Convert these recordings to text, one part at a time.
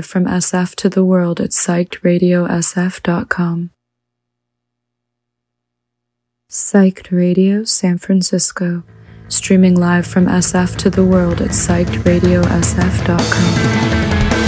from SF to the world at psychedradiosf.com. Psyched Radio San Francisco, streaming live from SF to the world at psychedradiosf.com.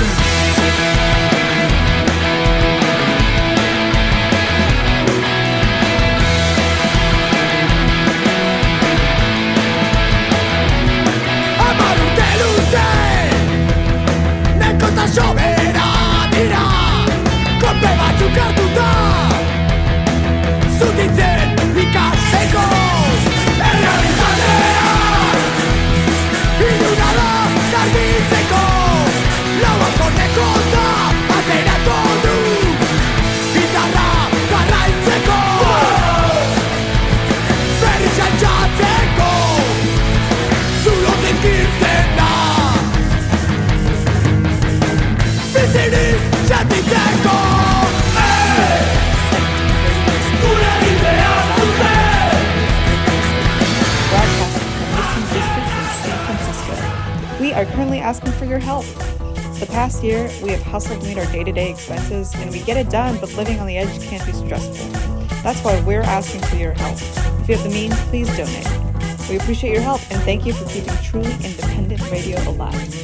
We are currently asking for your help. The past year, we have hustled to meet our day-to-day expenses, and we get it done, but living on the edge can be stressful. That's why we're asking for your help. If you have the means, please donate. We appreciate your help, and thank you for keeping truly independent radio alive.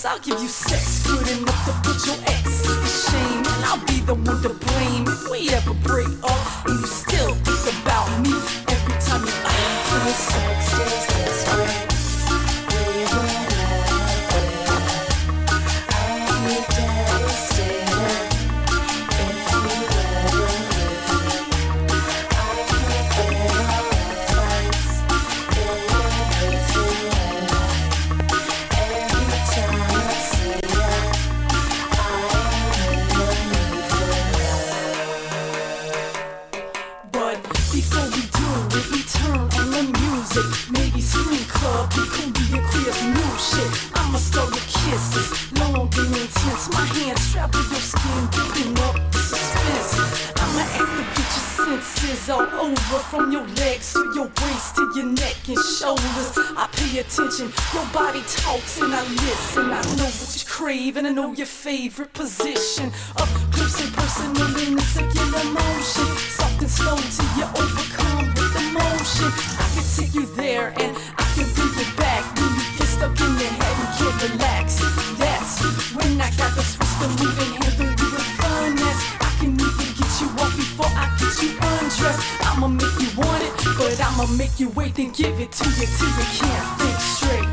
promise I'll give you sex good enough to put your ex to shame. And I'll be the one to blame if we ever break up and you still think about me every time you feel sex is this way. Maybe swing club, be cumbia queer's new shit. I'ma start with kisses, long and intense. My hands strapped to your skin, building up the suspense. I'ma activate your senses all over, from your legs to your waist to your neck and shoulders. I pay attention, your body talks and I listen. I know what you crave and I know your favorite position. Up close and personal in the circular motion, soft and slow till you overcome with emotion. I can take you there and I can bring it back. When you get stuck in your head and can't relax, that's when I got the switch to move and handle you with finesse. I can even get you off before I get you undressed. I'ma make you want it, but I'ma make you wait, then give it to you till you can't think straight.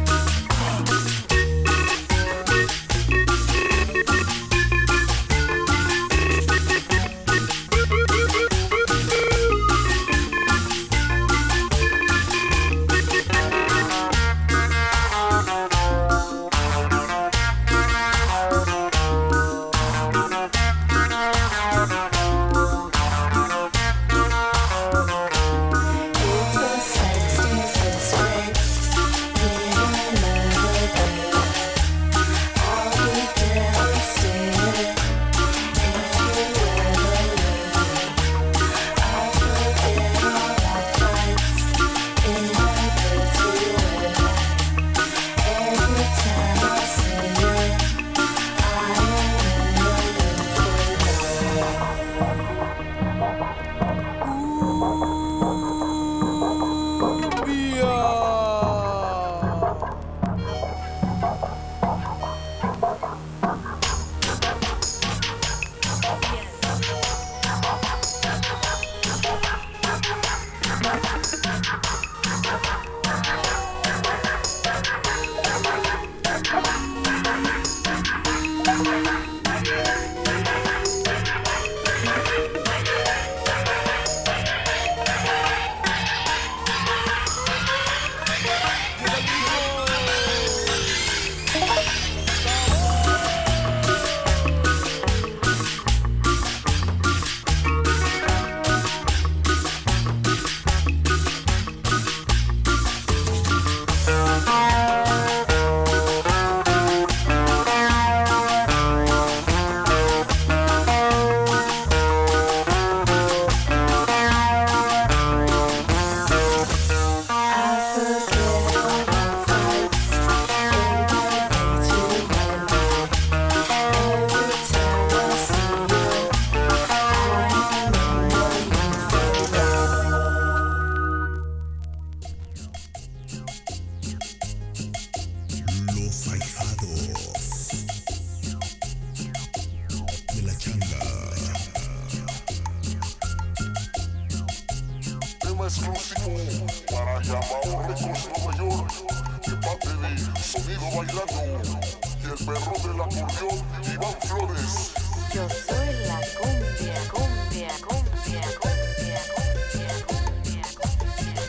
exclusivo para Llamado Records Nueva York, de parte de Sonido Bailando y el perro del acordeón Iván Flores. Yo soy la cumbia, cumbia, cumbia, cumbia, cumbia, cumbia, cumbia,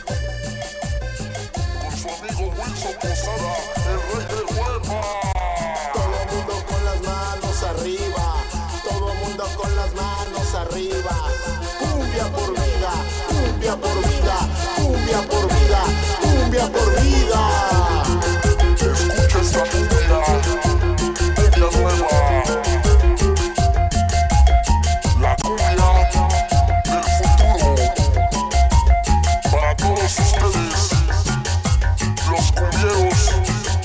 cumbia. Con su amigo Wilson Posada, el rey del hueva. Todo el mundo con las manos arriba, todo el mundo con las manos arriba. Cumbia por vida, cumbia por vida, cumbia por vida, cumbia por vida. Escucha esta cumbia, cumbia nueva. La cumbia del futuro. Para todos ustedes, los cumbieros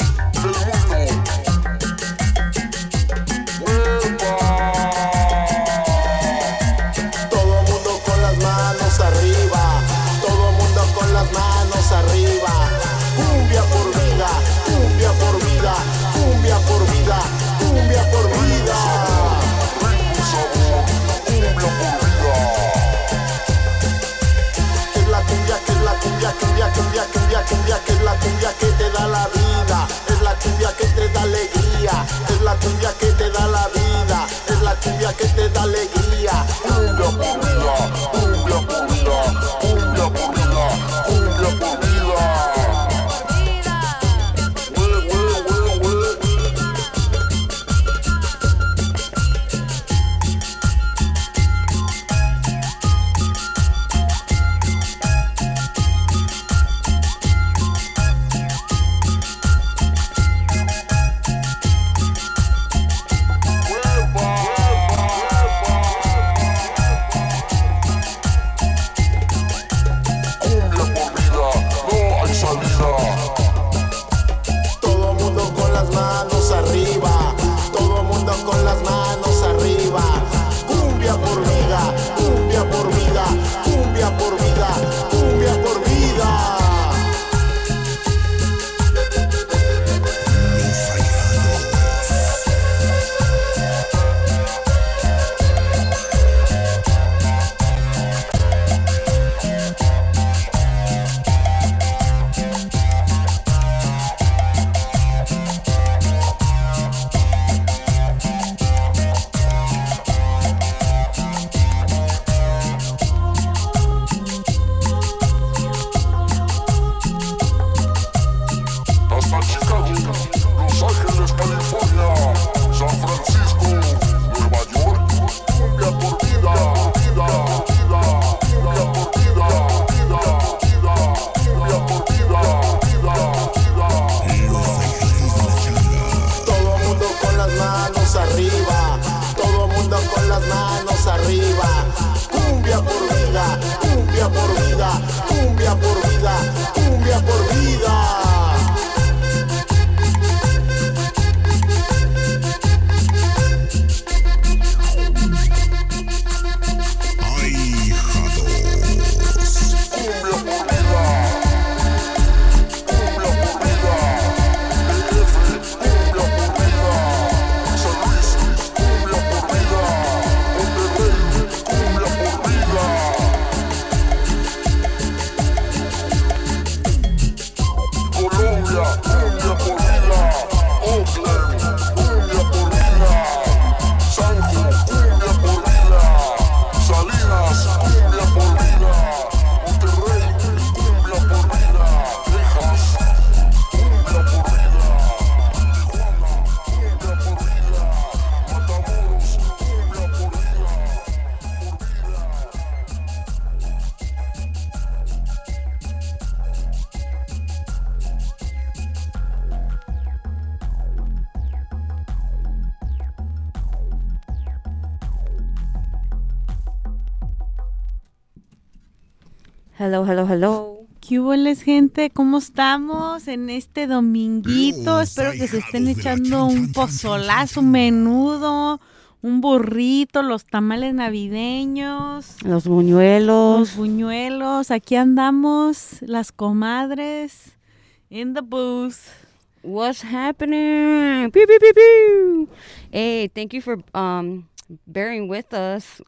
Hello, hello, hello. ¿Qué hueles, gente? ¿Cómo estamos en este dominguito? Espero que se estén echando un pozolazo, un menudo, un burrito, los tamales navideños, Los buñuelos. los buñuelos. Aquí andamos, las comadres, in the booth. What's happening? Pew, pew, pew, pew. Hey, thank you for bearing with us.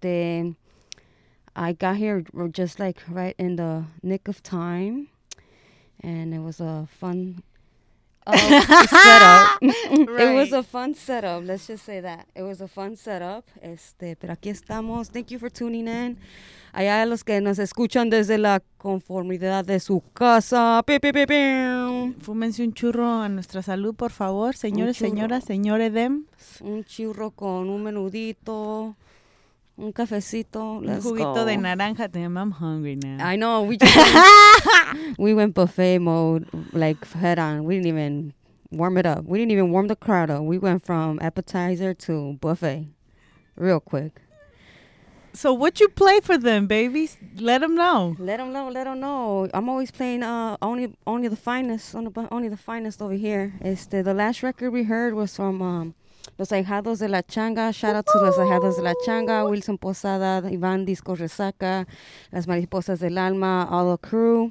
I got here just like right in the nick of time, and it was a fun setup. It was a fun setup. Let's just say that it was a fun setup. Pero aquí estamos. Thank you for tuning in. Allá a los que nos escuchan desde la conformidad de su casa. Pi, pi, pi, pi. Fúmense un churro a nuestra salud, por favor, señores, churro. señoras, señores dem. Un churro con un menudito, un cafecito. Un Let's juguito go. de naranja. Damn, I'm hungry now. I know. We went buffet mode, like head on. We didn't even warm it up. We didn't even warm the crowd up. We went from appetizer to buffet, real quick. So what you play for them, babies? Let them know. Let them know. Let them know. I'm always playing only the finest, only the finest over here. The last record we heard was from Los Ahijados de la Changa. Shout out to Los Ahijados de la Changa, Wilson Posada, Iván Disco Resaca, Las Mariposas del Alma, all the crew.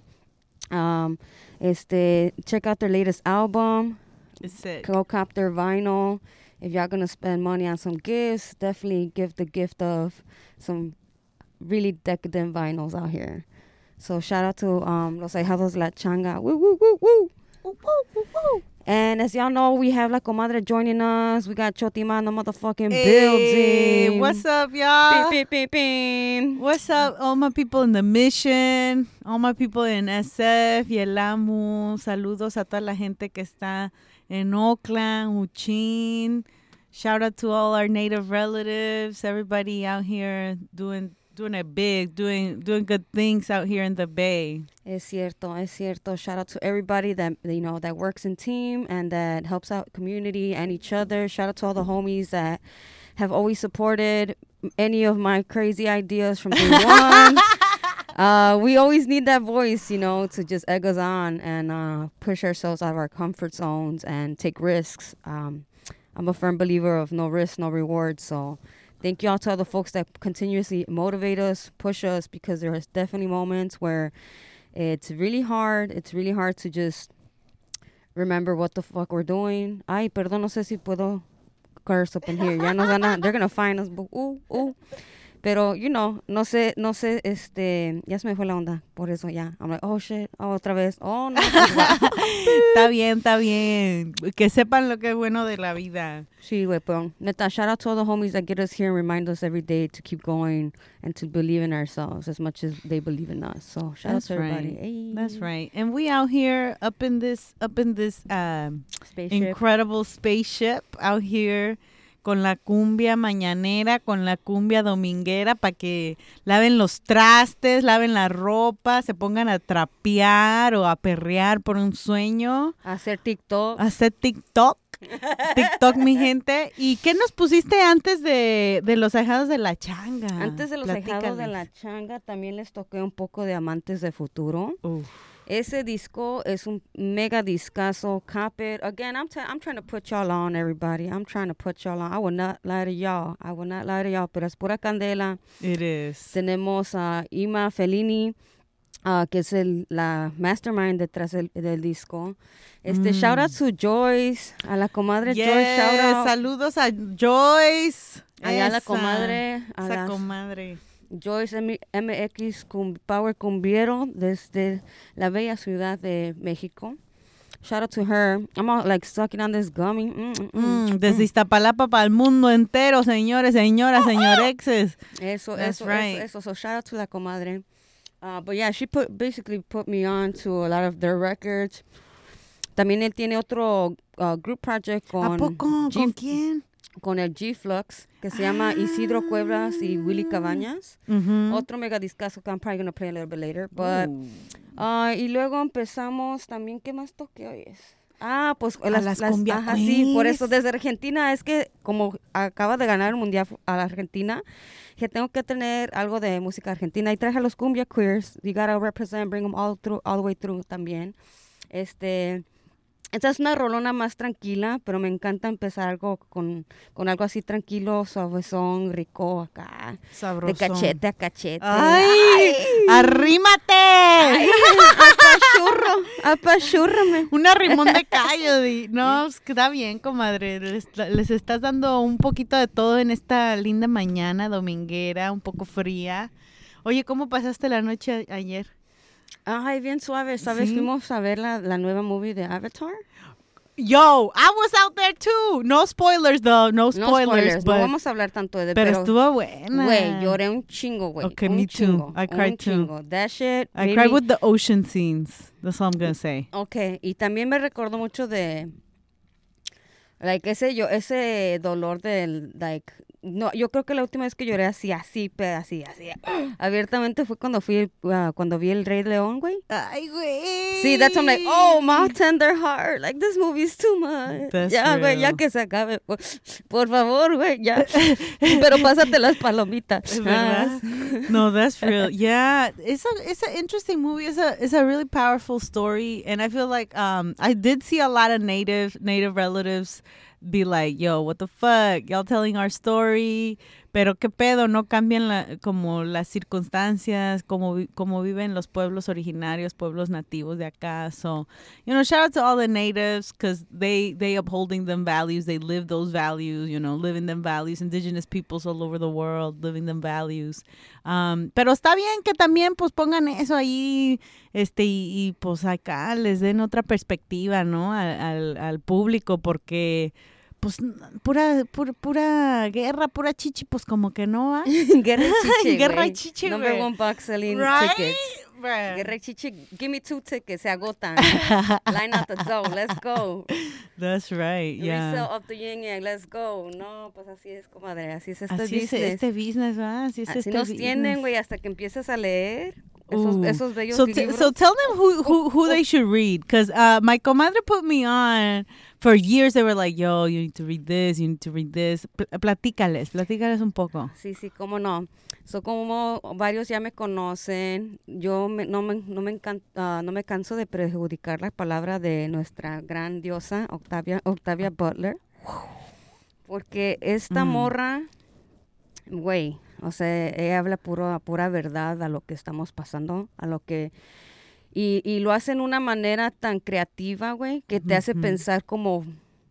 Check out their latest album. It's sick. Go cop their vinyl. If y'all gonna spend money on some gifts, definitely give the gift of some really decadent vinyls out here. So shout out to Los Ahijados de la Changa. Woo, woo, woo, woo. Woo, woo, woo, woo. And as y'all know, we have La Comadre joining us. We got Chotima in the motherfucking Hey, building. what's up, y'all? Beep, beep, beep, beep. What's up, all my people in the Mission, all my people in SF y el AMU. Saludos a toda la gente que está en Oakland, Uchin. Shout out to all our native relatives, everybody out here doing it big, doing good things out here in the Bay. Es cierto. Shout out to everybody that that works in team and that helps out community and each other. Shout out to all the homies that have always supported any of my crazy ideas from day one. We always need that voice, to just egg us on and push ourselves out of our comfort zones and take risks. I'm a firm believer of no risk, no reward. So thank you all to all the folks that continuously motivate us, push us, because there is definitely moments where it's really hard. It's really hard to just remember what the fuck we're doing. Ay, perdón, no sé si puedo curse up in here. Ya nos they're going to find us. Pero, no sé, ya se me fue la onda. Por eso ya. I'm like, oh, shit. Oh, otra vez. Oh, no. Está bien. Que sepan lo que es bueno de la vida. Sí, güey, pero neta, shout out to all the homies that get us here and remind us every day to keep going and to believe in ourselves as much as they believe in us. So shout out to everybody. Right. Hey. That's right. And we out here up in this Spaceship. incredible spaceship out here con la cumbia mañanera, con la cumbia dominguera, para que laven los trastes, laven la ropa, se pongan a trapear o a perrear por un sueño. Hacer TikTok. Hacer TikTok, mi gente. ¿Y qué nos pusiste antes de los ahijados de la changa? Antes de los ahijados de la changa, también les toqué un poco de Amantes de Futuro. Uf. Ese disco es un mega discazo. Cop it. Again, I'm trying to put y'all on, everybody. I'm trying to put y'all on. I will not lie to y'all. Pero es pura candela. It is. Tenemos a Ima Fellini, que es la mastermind detrás del disco. Shout out to Joyce, a la comadre Joyce. Shout out. Saludos a Joyce. Allá la comadre. Esa comadre. Joyce MX Power Cumbiero desde la bella ciudad de México. Shout out to her. I'm all like sucking on this gummy. Desde Iztapalapa para el mundo entero, señores, señoras, señorexes. Eso. So shout out to la comadre. But yeah, she basically put me on to a lot of their records. También él tiene otro group project con... ¿A poco? ¿Con quién? Con el G-Flux, que se llama Isidro Cuevas y Willy Cabañas. Otro mega discazo que I'm probably going to play a little bit later. But, y luego empezamos también, ¿qué más toqué hoy? Ah, pues las cumbia ajá, sí, por eso queens. desde Argentina es que como acaba de ganar el mundial a la Argentina, que tengo que tener algo de música argentina y traje a los cumbia queers. You gotta represent, bring them all the way through también. Esta es una rolona más tranquila, pero me encanta empezar algo con algo así tranquilo, suavezón, rico acá, de Sabrosón. cachete a cachete. ¡Ay! ¡Arrímate! ¡Ay! Apachúrrame. Un arrimón de callo. No, pues, está bien, comadre. Les estás dando un poquito de todo en esta linda mañana dominguera, un poco fría. Oye, ¿cómo pasaste la noche ayer? Ay, bien suave, ¿sabes? Sí. Fuimos a ver la nueva movie de Avatar. Yo, I was out there too. No spoilers, though. No spoilers. No but- vamos a hablar tanto de pero estuvo buena. Güey, lloré un chingo, güey. Okay, un me too. chingo, I cried un too. chingo. That shit. I made cried me- with the ocean scenes. That's all I'm gonna say. Okay, y también me recordó mucho de like ese dolor del like no, yo creo que la última vez que lloré así abiertamente fue cuando cuando vi El Rey León, güey. Ay, güey. Sí, that's I'm like, oh, my tender heart. Like, this movie is too much. That's Ya, güey, ya real. que se acabe. Por favor, güey, ya. Pero pásate las palomitas. Es verdad. No, that's real. Yeah, it's an interesting movie. It's a really powerful story, and I feel like I did see a lot of native relatives be like, yo, what the fuck, y'all telling our story, pero qué pedo, no cambian como las circunstancias, como viven los pueblos originarios, pueblos nativos de acá. So, shout out to all the natives because they upholding them values, they live those values, living them values, indigenous peoples all over the world living them values. Pero está bien que también pues pongan eso ahí, y pues acá les den otra perspectiva, ¿no? Al público, porque pues pura guerra, pura chichi, pues como que no va. Guerra Chiche, Guerra güey. Chiche, Number güey. one box selling Right? tickets. Bruh. Guerra Chiche, give me 2 tickets, se agotan. Line out the door, let's go. That's right, yeah. Resale of the yin yang, let's go. No, pues así es, comadre, así es este Así es business. este business, ¿verdad? Así es Así este nos business. tienen, güey, hasta que empiezas a leer Ooh. esos bellos so libros. so tell them who they should read, because my comadre put me on for years. They were like, yo, you need to read this, you need to read this. Platícales un poco. Sí, cómo no. So, como varios ya me conocen, yo no me canso de perjudicar la palabra de nuestra gran diosa Octavia Butler, porque esta morra, güey, o sea, ella habla pura verdad a lo que estamos pasando, a lo que y lo hace en una manera tan creativa, güey, que te hace pensar como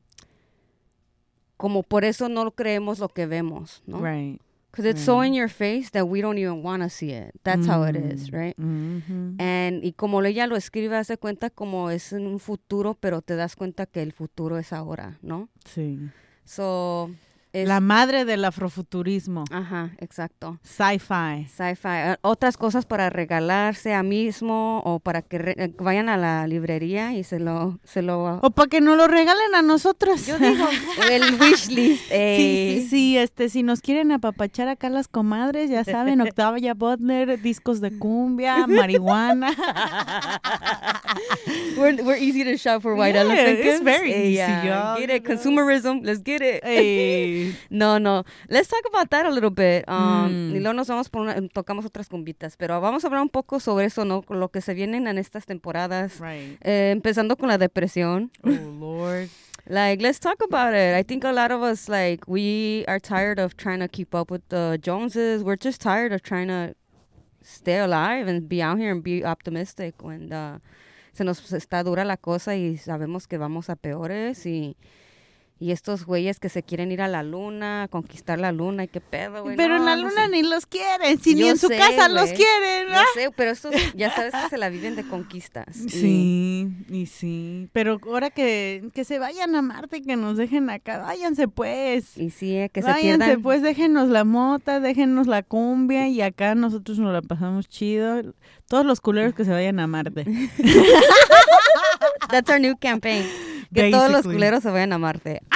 por eso no creemos lo que vemos, ¿no? Right. Because it's so in your face that we don't even want to see it. That's how it is, right? Mm-hmm. Y como ella lo escribe, hace cuenta como es en un futuro, pero te das cuenta que el futuro es ahora, ¿no? Sí. So, La madre del afrofuturismo. Ajá, exacto. Sci-fi. Sci-fi. Otras cosas para regalarse a mismo o para que vayan a la librería y se lo... O para que nos lo regalen a nosotros. Yo digo, el wish list. Sí, si nos quieren apapachar acá las comadres, ya saben, Octavia Butler, discos de cumbia, marihuana. We're easy to shop for white Yeah, elephant it's gifts. very easy, Yeah, y'all, get it. Consumerism. Let's get it. Hey. No. Let's talk about that a little bit. Y luego nos vamos tocamos otras cumbitas, pero vamos a hablar un poco sobre eso, ¿no? Con lo que se vienen en estas temporadas. Right. Empezando con la depresión. Oh, Lord. Like, let's talk about it. I think a lot of us, like, we are tired of trying to keep up with the Joneses. We're just tired of trying to stay alive and be out here and be optimistic when se nos está dura la cosa y sabemos que vamos a peores y estos güeyes que se quieren ir a la luna, conquistar la luna y qué pedo, güey. Pero no, en la no luna sé. ni los quieren, si ni Yo en su sé, casa los güey. quieren. Yo sé, pero estos ya sabes que se la viven de conquistas. Sí, pero ahora que se vayan a Marte y que nos dejen acá, váyanse pues. Y sí, que se Váyanse pierdan. pues, déjenos la mota, déjenos la cumbia y acá nosotros nos la pasamos chido. Todos los culeros que se vayan a Marte. That's our new campaign. Que todos los Basically. culeros se vayan a Marte. ¡Au!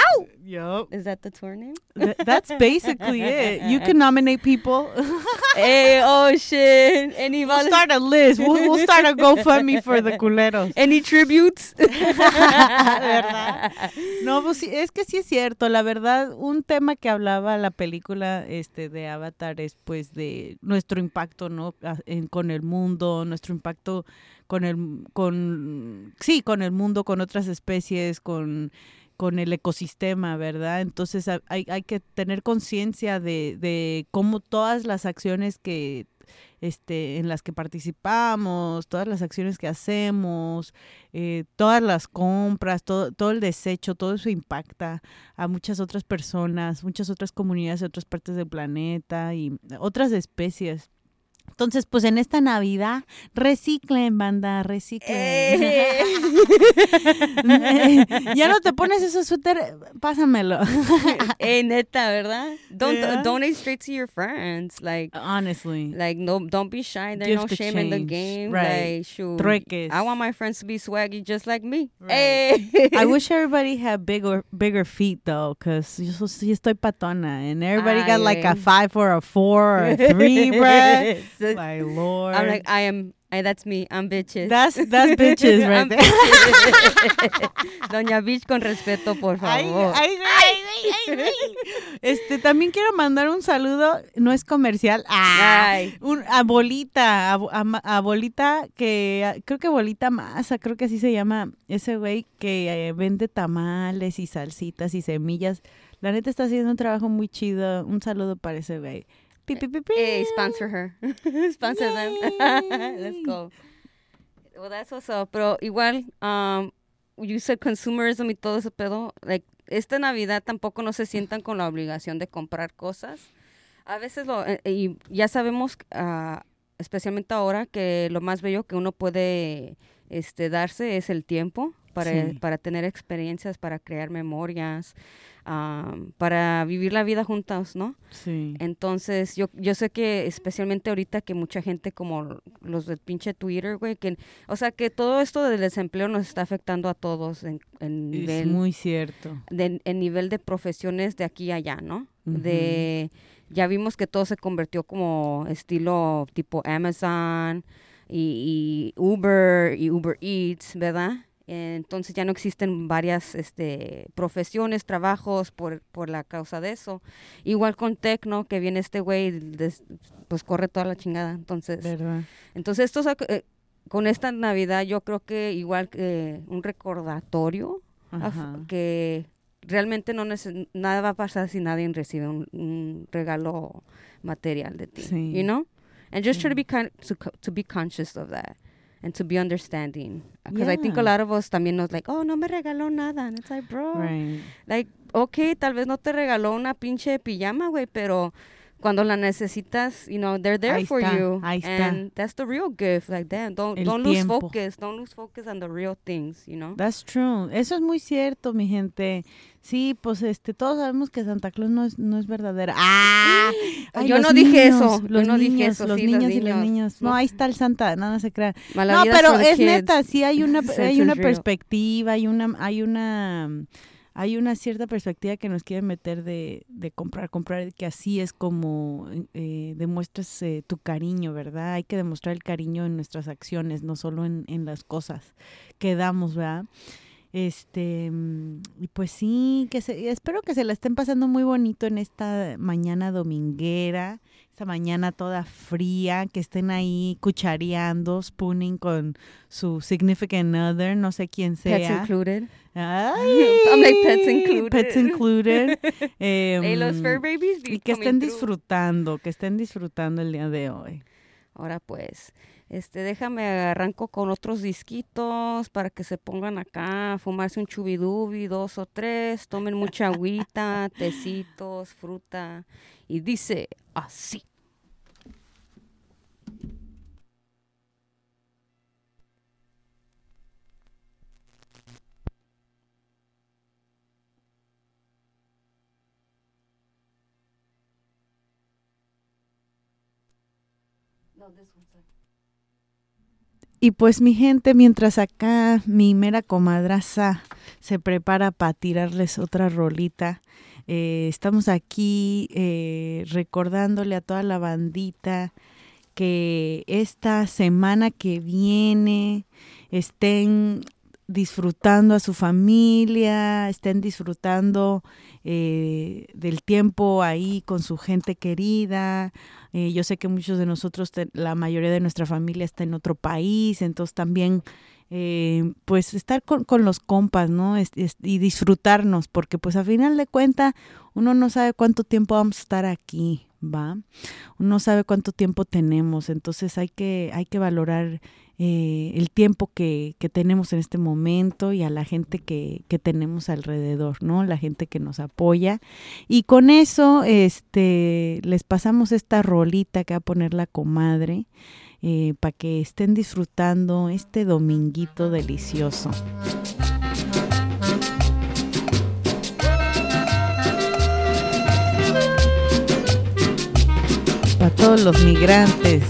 Yup. Is that the tour name? That's basically it. You can nominate people. Hey, oh shit. Any We'll start a list. We'll start a GoFundMe for the culeros. Any tributes? ¿Verdad? No, pues sí, es que sí es cierto. La verdad, un tema que hablaba la película de Avatar es pues de nuestro impacto, ¿no? Con el mundo, nuestro impacto con el mundo, con otras especies, con el ecosistema, ¿verdad? Entonces hay que tener conciencia de cómo todas las acciones que en las que participamos, todas las acciones que hacemos, todas las compras, todo el desecho, todo eso impacta a muchas otras personas, muchas otras comunidades de otras partes del planeta y otras especies. Entonces, pues en esta Navidad, reciclen, banda, reciclen. Ya no te pones ese suéter, pásamelo. Neta, ¿verdad? Donate straight to your friends. Like, honestly. Like, no, don't be shy. There's no Gift shame in the exchange. game. Right. Like, shoot. Trueques. I want my friends to be swaggy just like me. Right. Hey. I wish everybody had bigger feet, though, because yo sí estoy patona. And everybody got like a 5 or a 4 or a 3, bruh. My Lord. I'm like, that's me. I'm bitches. That's bitches right I'm there. bitches. Doña Bitch con respeto, por favor. Ay. También quiero mandar un saludo, no es comercial, a Bolita, a Bolita, que creo que Bolita Maza, creo que así se llama ese güey que vende tamales y salsitas y semillas. La neta está haciendo un trabajo muy chido. Un saludo para ese güey. Hey, sponsor her. Sponsor them. Let's go. Well, that's what's up. Pero igual, you said consumerism y todo ese pedo. Like, esta Navidad tampoco no se sientan con la obligación de comprar cosas. A veces y ya sabemos, especialmente ahora, que lo más bello que uno puede darse es el tiempo para tener experiencias, para crear memorias, para vivir la vida juntos, ¿no? Sí. Entonces, yo sé que especialmente ahorita que mucha gente como los del pinche Twitter, güey, o sea, que todo esto del desempleo nos está afectando a todos en nivel... Es muy cierto. En nivel de profesiones de aquí a allá, ¿no? Uh-huh. Ya vimos que todo se convirtió como estilo tipo Amazon y Uber y Uber Eats, ¿verdad? Entonces ya no existen varias profesiones, trabajos por la causa de eso. Igual con Tecno, que viene este güey, pues corre toda la chingada. Entonces, ¿verdad? Entonces con esta Navidad yo creo que igual que un recordatorio que realmente nada va a pasar si nadie recibe un regalo material de ti, sí. You know? And just try to be conscious of that. And to be understanding. Because I think a lot of us también nos like, oh, no me regaló nada. And it's like, bro, right. Like, okay, tal vez no te regaló una pinche pijama, güey, pero cuando la necesitas, they're there for you. Ahí está. And that's the real gift. Like, damn, don't lose focus. Don't lose focus on the real things, That's true. Eso es muy cierto, mi gente. Sí, pues todos sabemos que Santa Claus no es verdadera. Yo no dije eso. Los niños y las niñas. No, ahí está el Santa, no se crean. No, pero es neta, sí hay una perspectiva, hay una cierta perspectiva que nos quiere meter de comprar, que así es como demuestras tu cariño, ¿verdad? Hay que demostrar el cariño en nuestras acciones, no solo en las cosas que damos, ¿verdad? Y pues sí, espero que se la estén pasando muy bonito en esta mañana dominguera, esta mañana toda fría, que estén ahí cuchareando, spooning con su significant other, no sé quién sea. Pets included. Ay, I'm like pets included. Pets included. Los fur babies. Y que estén disfrutando el día de hoy. Ahora pues, déjame arranco con otros disquitos para que se pongan acá a fumarse un chubidubi, 2 o 3, tomen mucha agüita, tecitos, fruta, y dice así. No, this one's like... Y pues mi gente, mientras acá mi mera comadraza se prepara para tirarles otra rolita. Estamos aquí recordándole a toda la bandita que esta semana que viene estén disfrutando a su familia, estén disfrutando del tiempo ahí con su gente querida. Yo sé que muchos de nosotros, la mayoría de nuestra familia está en otro país, entonces también pues estar con los compas, ¿no? Y disfrutarnos, porque pues a final de cuentas uno no sabe cuánto tiempo vamos a estar aquí, ¿va? Uno no sabe cuánto tiempo tenemos, entonces hay que valorar el tiempo que tenemos en este momento y a la gente que tenemos alrededor, ¿no? La gente que nos apoya. Y con eso les pasamos esta rolita que va a poner la comadre para que estén disfrutando este dominguito delicioso. Para todos los migrantes.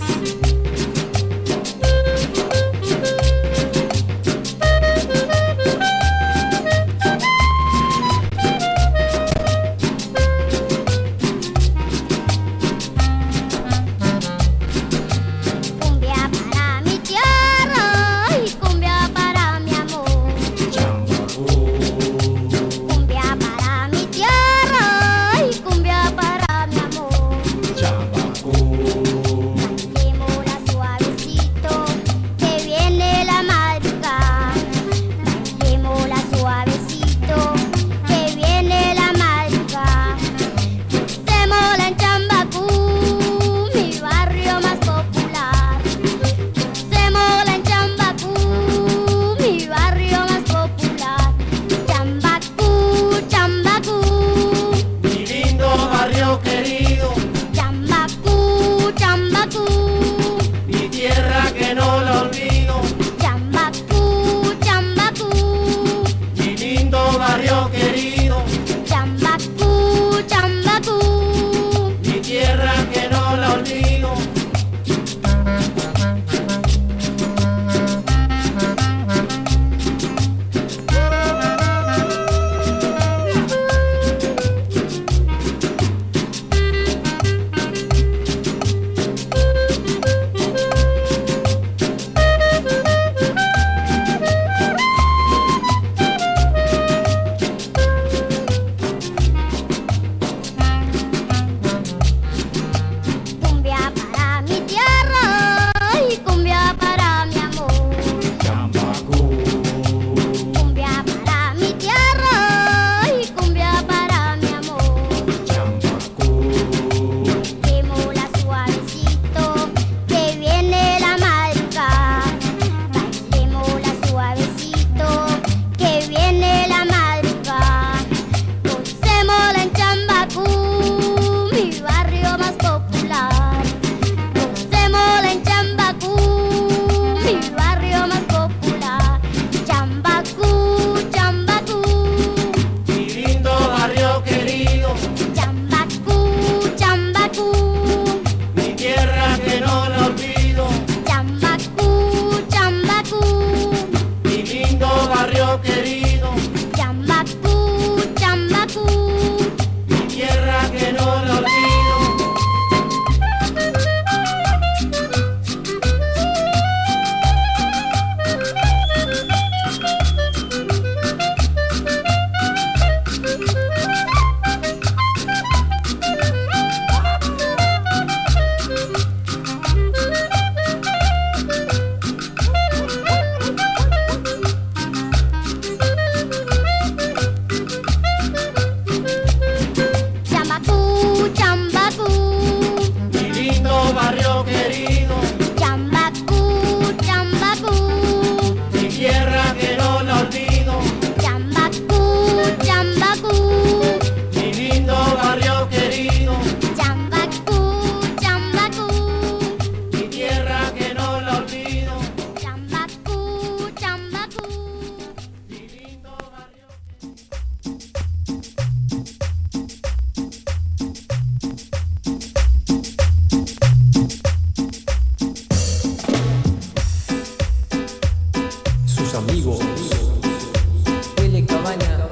Huele Cabañas,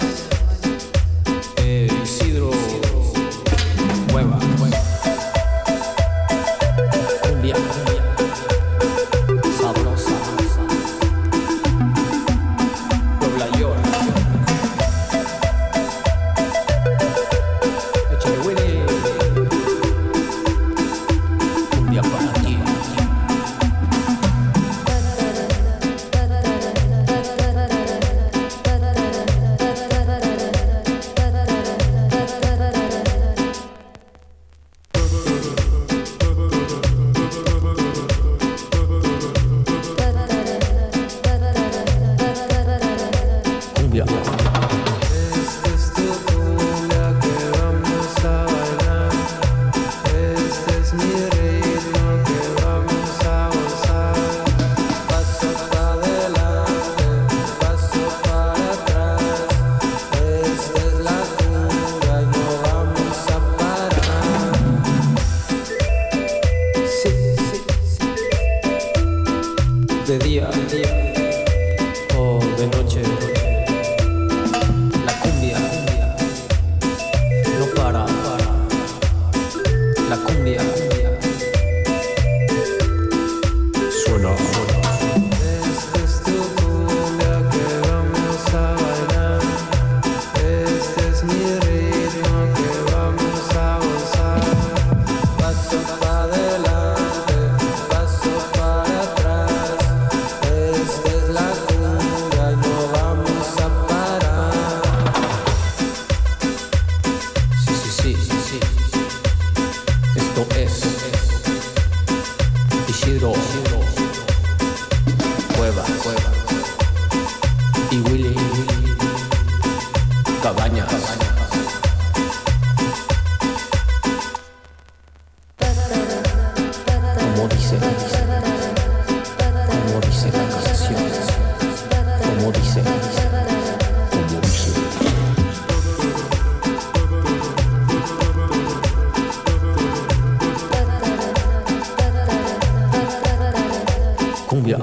Isidro Cueva, cumbia sabrosa, Puebla York, échale Willy, cumbia para ti. Cumbia. Esta es tu cumbia que vamos a bailar. Este es mi ritmo que vamos a gozar. Paso para adelante, paso para atrás. Esta es la cumbia y no vamos a parar. Sí, sí, sí. De día o de noche, la cumbia no para. La cumbia suena. Esta es tu cumbia que vamos a bailar. Este es mi ritmo que vamos a gozar. Paso para adelante, paso para atrás. Esta es la cumbia y no vamos a parar. Sí, sí, sí, sí, sí. Esto es Isidro Cueva y Willy Cabañas. Como dice la canción, como dice. Cumbia.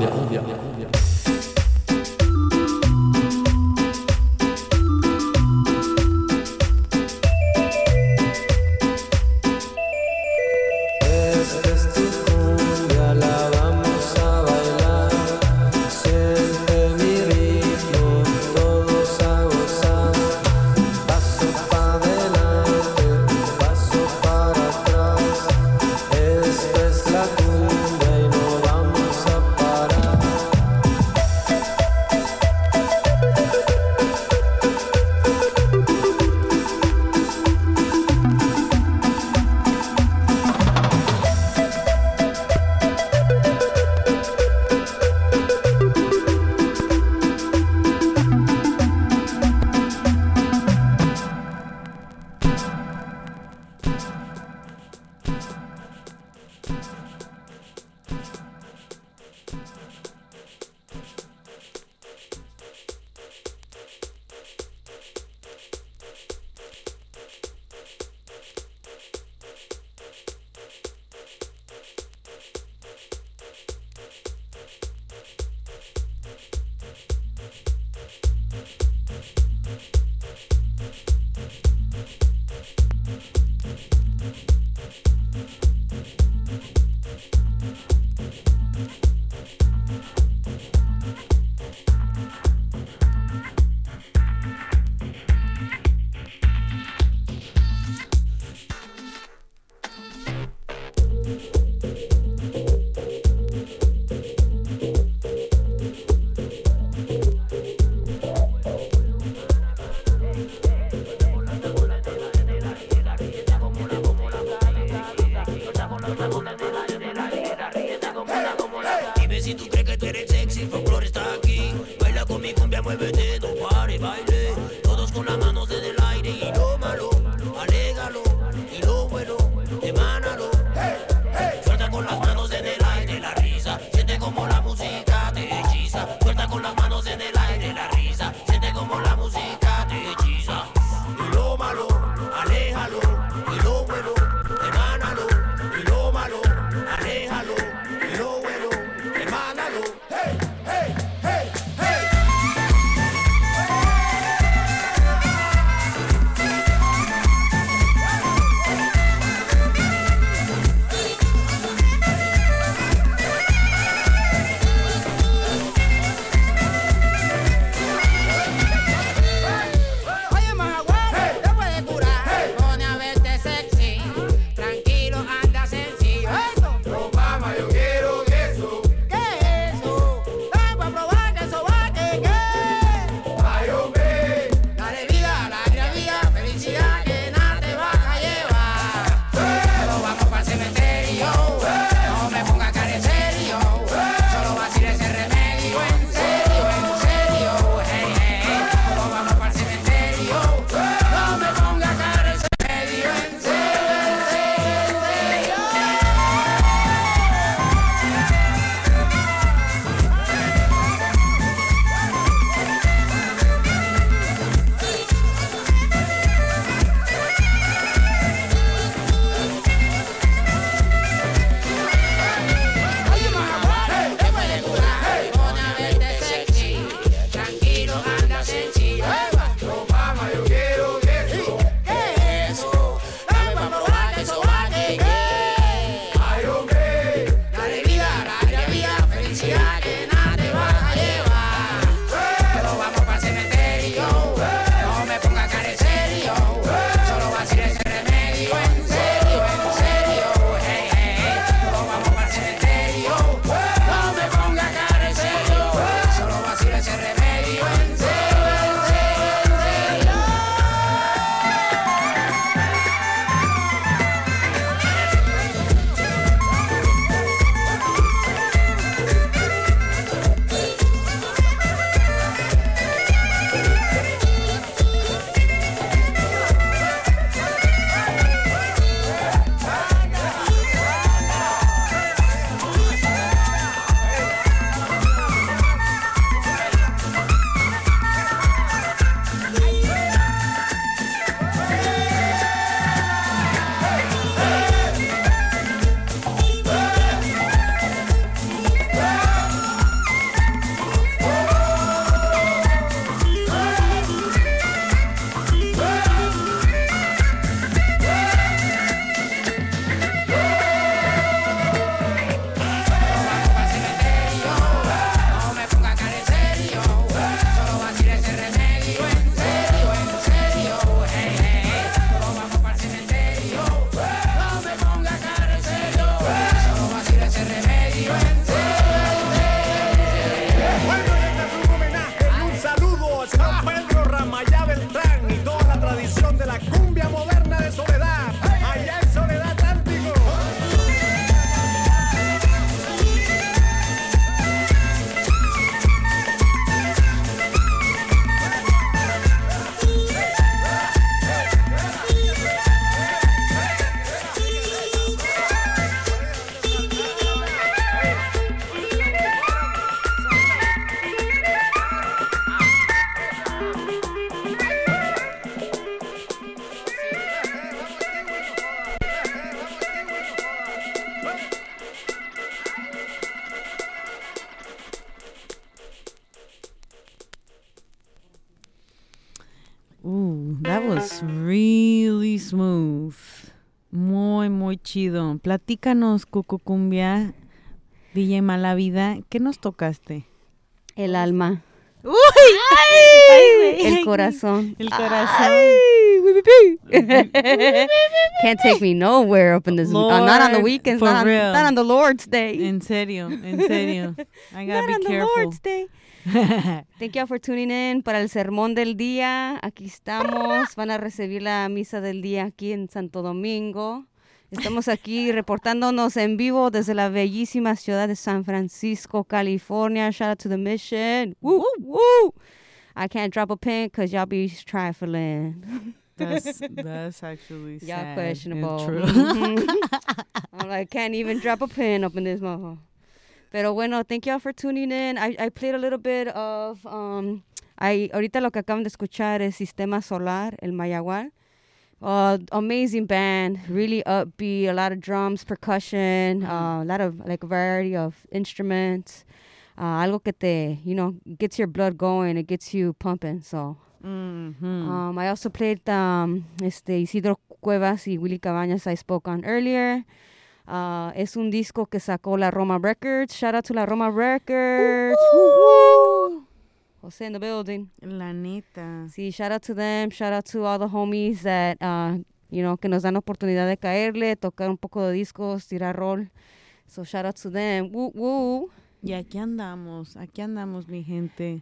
Esta es tu cumbia, la vamos a bailar. Siente mi ritmo, todos a gozar. Paso para adelante, paso para atrás. Esta es la cumbia y no vamos a parar. Dime si tú crees que tú eres sexy, folklore está aquí. Baila con mi cumbia, muévete, no pare, baile. Todos con las manos en el aire y lo malo, alégalo. Y lo bueno, emánalo. Suelta con las manos en el aire la risa. Siente como la música te hechiza. Suelta con las manos en el aire la risa. Siente como la música te hechiza. Y lo malo, aléjalo. Y lo bueno, emánalo. Y lo malo, aléjalo. Y lo bueno, emánalo. Hey, hey, hey, hey. Ooh, that was really smooth. Muy, muy chido. Platícanos, Cucucumbia, DJ Malavida, ¿qué nos tocaste? El alma. ¡Uy! El corazón. El corazón. Can't take me nowhere up in this. Not on the weekends. For Not real. on the Lord's Day. En serio. I gotta Not be on the careful. Lord's Day. Thank you for tuning in para el sermón del día. Aquí estamos. Van a recibir la misa del día aquí en Santo Domingo. Estamos aquí reportándonos en vivo desde la bellísima ciudad de San Francisco, California. Shout out to the mission. Woo, woo. I can't drop a pin because y'all be trifling. That's actually Y'all sad questionable. and true. Mhm. I'm like, can't even drop a pin up in this motherfucker. Pero bueno, thank y'all for tuning in. I played a little bit of, ahorita lo que acaban de escuchar es Sistema Solar, el Mayagual. Amazing band, really upbeat, a lot of drums, percussion, a lot of like variety of instruments. Algo que te, gets your blood going, it gets you pumping, so. I also played Isidro Cuevas y Willy Cabañas I spoke on earlier. Es un disco que sacó la Roma Records. Shout out to la Roma Records. Woo-hoo. Jose in the building. La neta. Sí, shout out to them. Shout out to all the homies that, que nos dan oportunidad de caerle, tocar un poco de discos, tirar rol. So shout out to them. Woo, woo. Y aquí andamos, mi gente.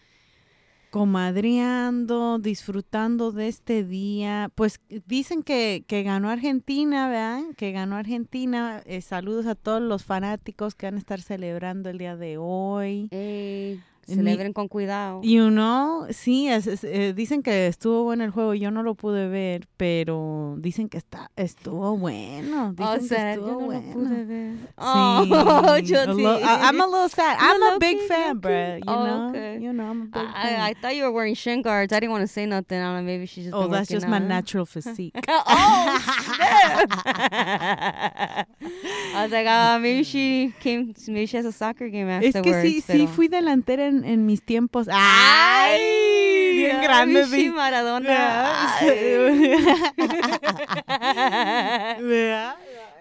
Comadreando, disfrutando de este día. Pues dicen que ganó Argentina, ¿verdad? Que ganó Argentina. Saludos a todos los fanáticos que van a estar celebrando el día de hoy. Celebren con cuidado. Sí, dicen que estuvo bueno el juego. Yo no lo pude ver, pero dicen que estuvo bueno. Dicen que estuvo yo no bueno. lo pude ver. Sí. Yo sí. I'm a little sad. I'm a big fan, okay. bro. You know? Okay. I'm a big fan. I thought you were wearing shin guards. I didn't want to say nothing. I don't know, maybe she's just been That's working just my out. natural physique. Oh, snap. I was like, maybe she has a soccer game Es afterwards. que sí pero- fui delantera en mis tiempos. ¡Ay! Bien grande. Sí, Maradona. ¿Verdad?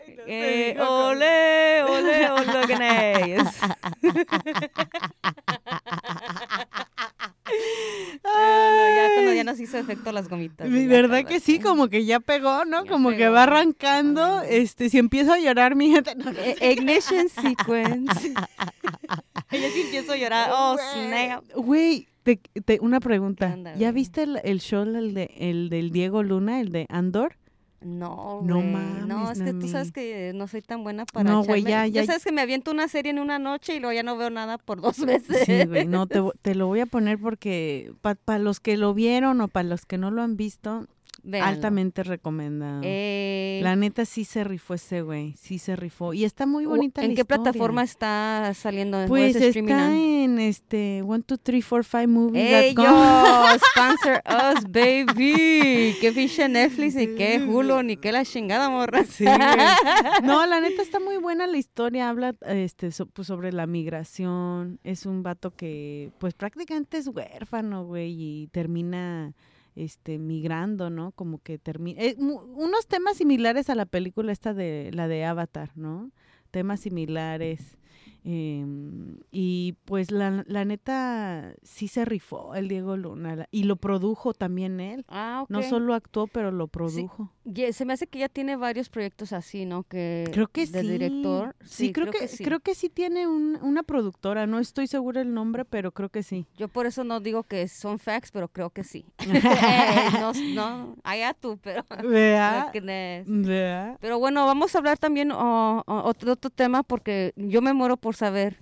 Ole, ole, ole, ganes. Ya cuando ya nos hizo efecto las gomitas. ya ¿Verdad que sí? acuérdate. Como que ya pegó, ¿no? Ya Como que pegó. va arrancando. Si empiezo a llorar, mi gente... No, Ignition sequence. Yo sí empiezo a llorar. Oh, snap. Güey, una pregunta. ¿Qué onda, ¿Ya güey? viste el show, el del Diego Luna, el de Andor? No, No güey. mames, No, es que tú Nami. sabes que no soy tan buena para No, güey, echarme- ya. sabes que me aviento una serie en una noche y luego ya no veo nada por 2 meses. Sí, güey, no, te lo voy a poner porque para los que lo vieron o para los que no lo han visto, Véanlo. altamente recomendado. La neta sí se rifó ese güey, sí se rifó. Y está muy bonita la ¿En qué historia. plataforma está saliendo? Pues ¿Where's streaming está on? en 1, 2, 3, 4, 5 movies. ¡Ey, yo! Sponsor us, baby. ¿Qué pinche Netflix, ni qué Hulu, ni qué la chingada, morra? Sí, güey. No, la neta está muy buena la historia. Habla pues sobre la migración. Es un vato que pues prácticamente es huérfano, güey, y termina migrando, ¿no? Como que termina unos temas similares a la película esta de la de Avatar, ¿no? Temas similares. Y pues la neta sí se rifó el Diego Luna y lo produjo también él. Ah, ok. No solo actuó, pero lo produjo. Se me hace que ya tiene varios proyectos así, ¿no? Creo que de sí. director. Sí, creo que sí tiene una productora. No estoy segura el nombre, pero creo que sí. Yo por eso no digo que son facts, pero creo que sí. No, allá tú, pero... ¿Verdad? Goodness. ¿Verdad? Pero bueno, vamos a hablar también otro tema porque yo me muero por saber.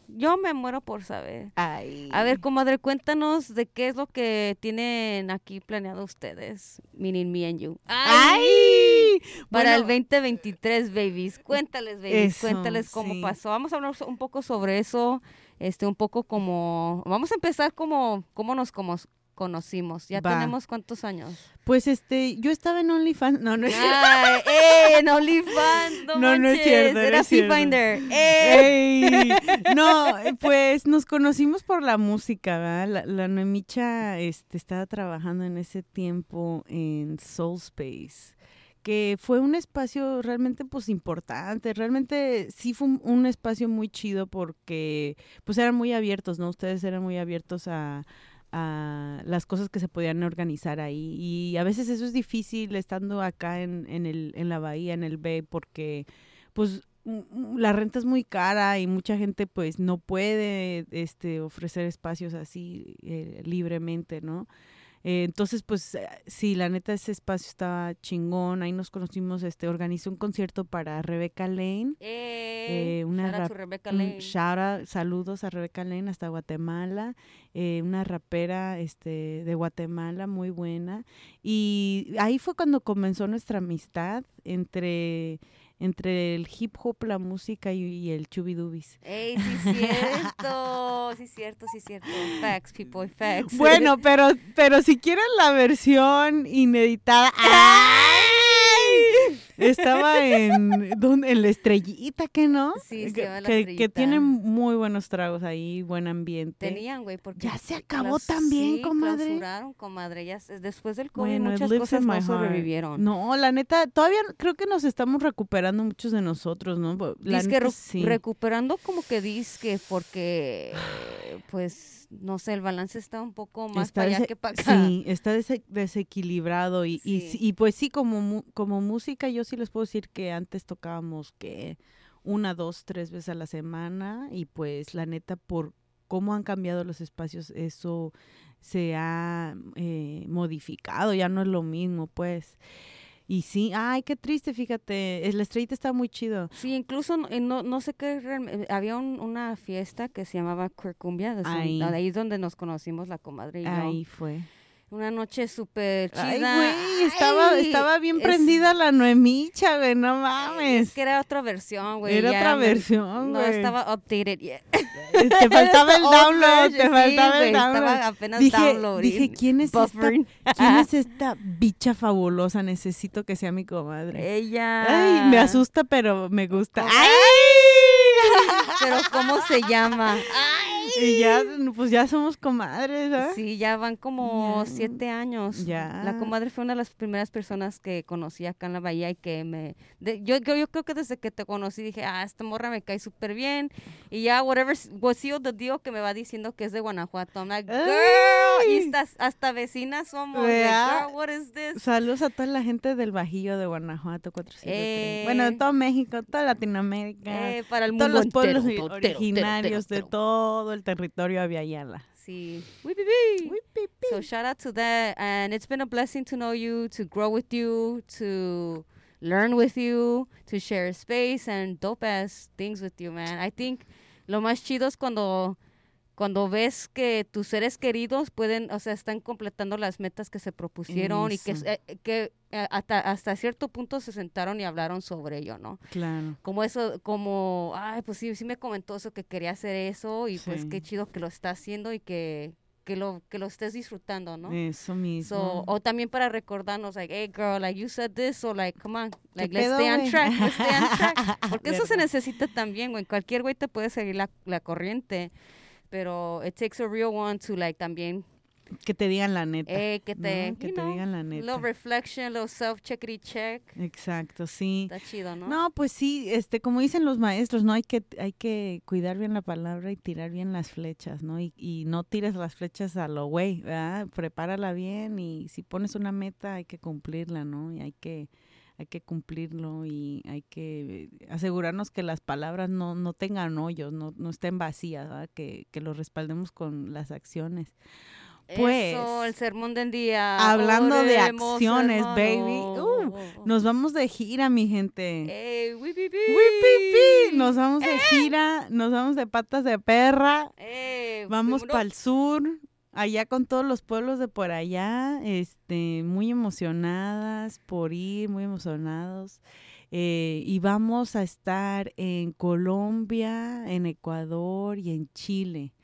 Ay. A ver, comadre, cuéntanos de qué es lo que tienen aquí planeado ustedes, meaning me and you. ¡Ay! Para el Bueno, 2023, babies. Cuéntales, babies, Eso, cuéntales cómo sí. pasó. Vamos a hablar un poco sobre eso, un poco como... Vamos a empezar cómo nos conocimos. ¿Ya Va. tenemos cuántos años? Pues yo estaba en OnlyFans. No, no es Ay, en OnlyFans, no No, no es manches, cierto, no era es cierto. Finder. Ey, no, pues nos conocimos por la música, ¿verdad? La Noemicha estaba trabajando en ese tiempo en Soul Space, que fue un espacio realmente pues importante, realmente sí fue un espacio muy chido porque pues eran muy abiertos, ¿no? Ustedes eran muy abiertos a las cosas que se podían organizar ahí, y a veces eso es difícil estando acá en la bahía, en el Bay, porque pues la renta es muy cara y mucha gente pues no puede ofrecer espacios así libremente, ¿no? Entonces, pues, sí, la neta, ese espacio estaba chingón. Ahí nos conocimos, organizó un concierto para Rebecca Lane. Shout out to Rebecca Lane. Saludos a Rebecca Lane hasta Guatemala. Una rapera de Guatemala muy buena. Y ahí fue cuando comenzó nuestra amistad entre el hip hop, la música y el chubidubis. Ey, sí cierto, sí cierto. Facts, people, facts. Bueno, pero si quieren la versión ineditada, estaba en la Estrellita, ¿qué no? Sí, se llama La que Estrellita. tienen muy buenos tragos ahí, buen ambiente. Tenían, güey, porque Ya se acabó también, sí, comadre. Clausuraron, comadre. Ya después del COVID Bueno, it muchas lives cosas in my no heart. sobrevivieron. No, la neta, todavía creo que nos estamos recuperando muchos de nosotros, ¿no? La Dizque neta, sí. recuperando como que dizque porque, pues, no sé, el balance está un poco más para allá que para acá. Sí, está desequilibrado y pues sí, como música yo sí les puedo decir que antes tocábamos que 1, 2, 3 veces a la semana, y pues la neta por cómo han cambiado los espacios eso se ha modificado, ya no es lo mismo pues. Y sí, ay, qué triste, fíjate, la Estrellita está muy chido. Sí, incluso no sé qué, había una fiesta que se llamaba Cuercumbia, Ahí. ahí es donde nos conocimos la comadre y yo. Ahí fue. Una noche súper chida. Ay, güey, estaba bien prendida la Noemicha, güey, no mames. Es que era otra versión, güey. Era ya otra versión, no güey. estaba updated yet. Te faltaba el download, te Sí, faltaba el güey, download. estaba apenas Dije, downloading. ¿quién es buffering. ¿quién es esta bicha fabulosa? Necesito que sea mi comadre. Ella. Ay, me asusta, pero me gusta. ¿Cómo? ¡Ay! Pero ¿cómo se llama? Y ya, pues ya somos comadres, ¿verdad? Sí, ya van como 7 años. Ya. La comadre fue una de las primeras personas que conocí acá en la bahía y que yo creo que desde que te conocí dije, esta morra me cae súper bien. Y ya, whatever the deal que me va diciendo que es de Guanajuato. I'm like, girl, y hasta vecinas somos. Like, girl, what is this? Saludos a toda la gente del Bajío de Guanajuato 473. Bueno, de todo México, toda Latinoamérica. Para el todos mundo los pueblos entero, originarios entero. de todo el territorio Aviala. Sí. So shout out to that. And it's been a blessing to know you, to grow with you, to learn with you, to share space and dope ass things with you, man. I think lo más chido es cuando ves que tus seres queridos están completando las metas que se propusieron Eso. y que hasta cierto punto se sentaron y hablaron sobre ello, ¿no? Claro. Ay, pues sí me comentó eso, que quería hacer eso y pues Sí. qué chido que lo está haciendo y que lo estés disfrutando, ¿no? Eso mismo. O también para recordarnos, like, hey girl, like you said this, so like, come on, like ¿Qué let's pedo, stay on güey? track, let's stay on track. Porque eso se Verdad. necesita también, güey. Cualquier güey te puede seguir la corriente, pero it takes a real one to like también Que te digan la neta. que te, ¿no? Que you te know, digan la neta. little reflection, little self-checkity check. Exacto, sí. Está chido, ¿no? No, pues sí, como dicen los maestros, ¿no? Hay que cuidar bien la palabra y tirar bien las flechas, ¿no? Y no tires las flechas a lo güey, ¿verdad? Prepárala bien y si pones una meta hay que cumplirla, ¿no? Y hay que cumplirlo y hay que asegurarnos que las palabras no tengan hoyos, no estén vacías, ¿verdad? Que lo respaldemos con las acciones. Pues, Eso, el sermón del día. hablando de Oremos, acciones, hermano. baby, nos vamos de gira, mi gente. Ey, wipipi. ¡Wipipi! Nos vamos de gira, nos vamos de patas de perra, vamos vámonos. para el sur, allá con todos los pueblos de por allá, muy emocionadas por ir, muy emocionados. Y vamos a estar en Colombia, en Ecuador y en Chile.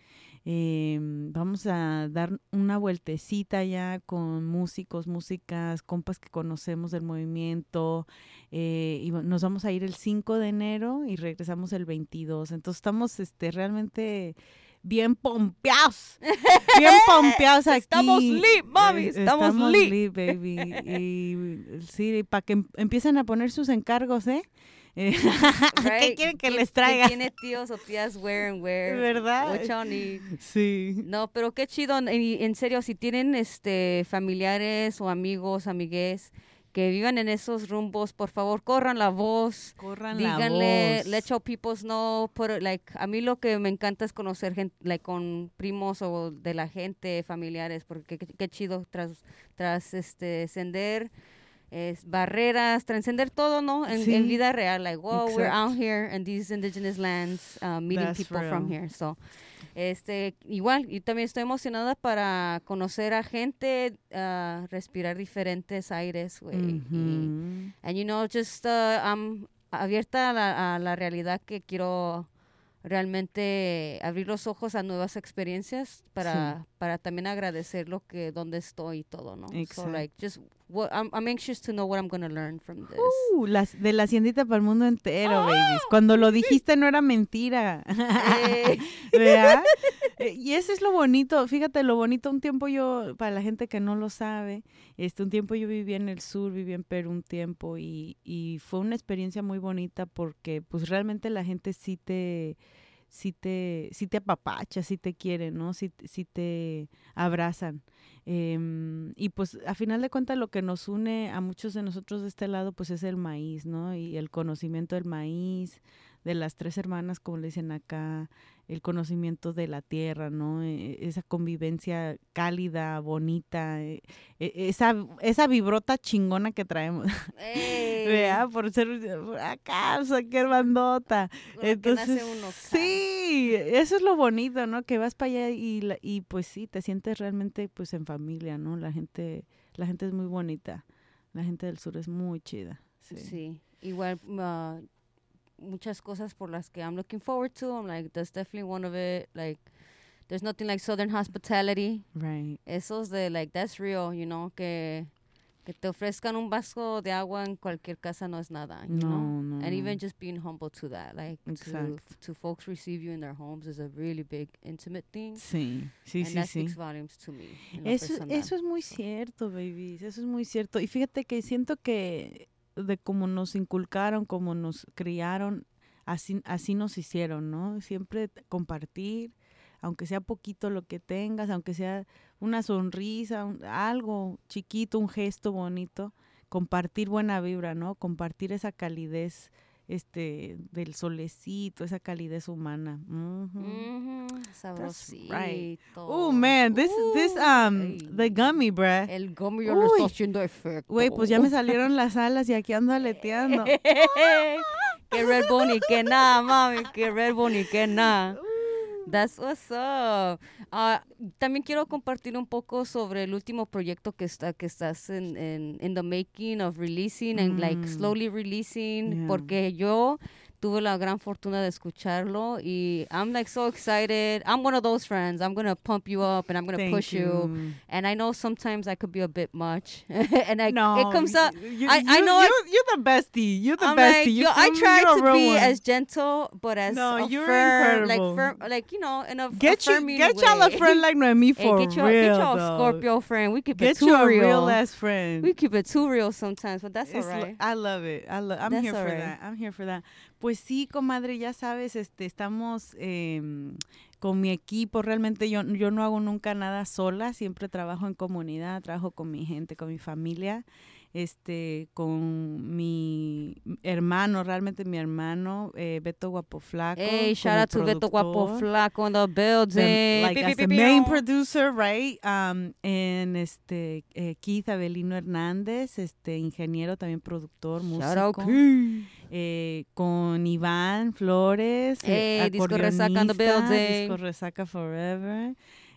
Vamos a dar una vueltecita ya con músicos, músicas, compas que conocemos del movimiento. Nos vamos a ir el 5 de enero y regresamos el 22. Entonces estamos realmente bien pompeados. Bien pompeados aquí. Estamos lit, mami. Estamos lit, baby. Y sí, para que empiecen a poner sus encargos, ¿eh? ¿Qué quieren que les traiga? ¿Qué tiene tíos o tías where and where? ¿Verdad? What y'all need. Sí. No, pero qué chido. En serio, si tienen familiares o amigos, amigues que vivan en esos rumbos, por favor, corran la voz. Díganle, let your people know. A mí lo que me encanta es conocer gente, con primos o de la gente, familiares, porque qué chido trascender barreras, trascender todo, ¿no? En vida real, we're out here in these indigenous lands, meeting That's people real. from here. So, igual, y también estoy emocionada para conocer a gente, respirar diferentes aires, güey. Mhm. And I'm abierta a la realidad que quiero realmente abrir los ojos a nuevas experiencias para también agradecer donde estoy y todo, ¿no? Exacto. So I'm anxious to know what I'm going to learn from this. De la haciendita para el mundo entero, babies. Cuando lo dijiste no era mentira. ¿Verdad? Y eso es lo bonito. Fíjate, lo bonito, un tiempo para la gente que no lo sabe, un tiempo yo viví en el sur, viví en Perú un tiempo y fue una experiencia muy bonita porque pues realmente la gente sí te apapacha, sí te quiere, ¿no? Sí te abrazan. Y pues a final de cuentas lo que nos une a muchos de nosotros de este lado pues es el maíz, ¿no? Y el conocimiento del maíz, de las 3 hermanas, como le dicen acá, el conocimiento de la tierra, ¿no? Esa convivencia cálida, bonita, esa vibrota chingona que traemos. ¿Verdad? Por ser acá, qué bandota. Entonces, nace uno, sí, eso es lo bonito, ¿no? Que vas para allá y pues sí, te sientes realmente pues en familia, ¿no? La gente es muy bonita. La gente del sur es muy chida. Sí. Igual muchas cosas por las que I'm looking forward to. I'm like, that's definitely one of it. Like, there's nothing like Southern hospitality. Right. Esos that's real, que te ofrezcan un vaso de agua en cualquier casa no es nada, you know? No. And even just being humble to that, Exacto. to folks receive you in their homes is a really big, intimate thing. Sí. And that speaks volumes to me. Eso es muy cierto, babies. Eso es muy cierto. Y fíjate que siento que de cómo nos inculcaron, cómo nos criaron, así nos hicieron, ¿no? Siempre compartir, aunque sea poquito lo que tengas, aunque sea una sonrisa, algo chiquito, un gesto bonito, compartir buena vibra, ¿no? Compartir esa calidez del solecito, esa calidez humana. Sabrosito. Right. Oh man, this the gummy, bruh. El gummy ya lo está haciendo efecto. Güey, pues ya me salieron las alas y aquí ando aleteando. Que Red Bull ni que nada, mami, que Red Bull ni que nada. That's what's up. También quiero compartir un poco sobre el último proyecto que estás in the making of releasing and slowly releasing, porque yo tuve la gran fortuna de escucharlo y I'm so excited. I'm one of those friends. I'm going to pump you up and I'm going to push you. And I know sometimes I could be a bit much. And it comes up. I know you're the bestie. You're the I'm bestie. Like, I try to be as gentle, but as you're firm, incredible. In a get y'all a friend like Noemi for get real. Get y'all a Scorpio friend. We keep it too real. Get real. you a real ass friend. We keep it too real sometimes, but that's all right. I love it. I'm here for that. I'm here for that. Pues sí, comadre, ya sabes, estamos con mi equipo. Realmente yo no hago nunca nada sola, siempre trabajo en comunidad, trabajo con mi gente, con mi familia, con mi hermano, realmente mi hermano, Beto Guapo Flaco. Hey, shout out to Beto Guapo Flaco in the building. As the main producer, right? And Keith Avelino Hernández, ingeniero, también productor, músico. Shout out Keith. Con Iván Flores, Disco Resaca in the building. Disco Resaca Forever.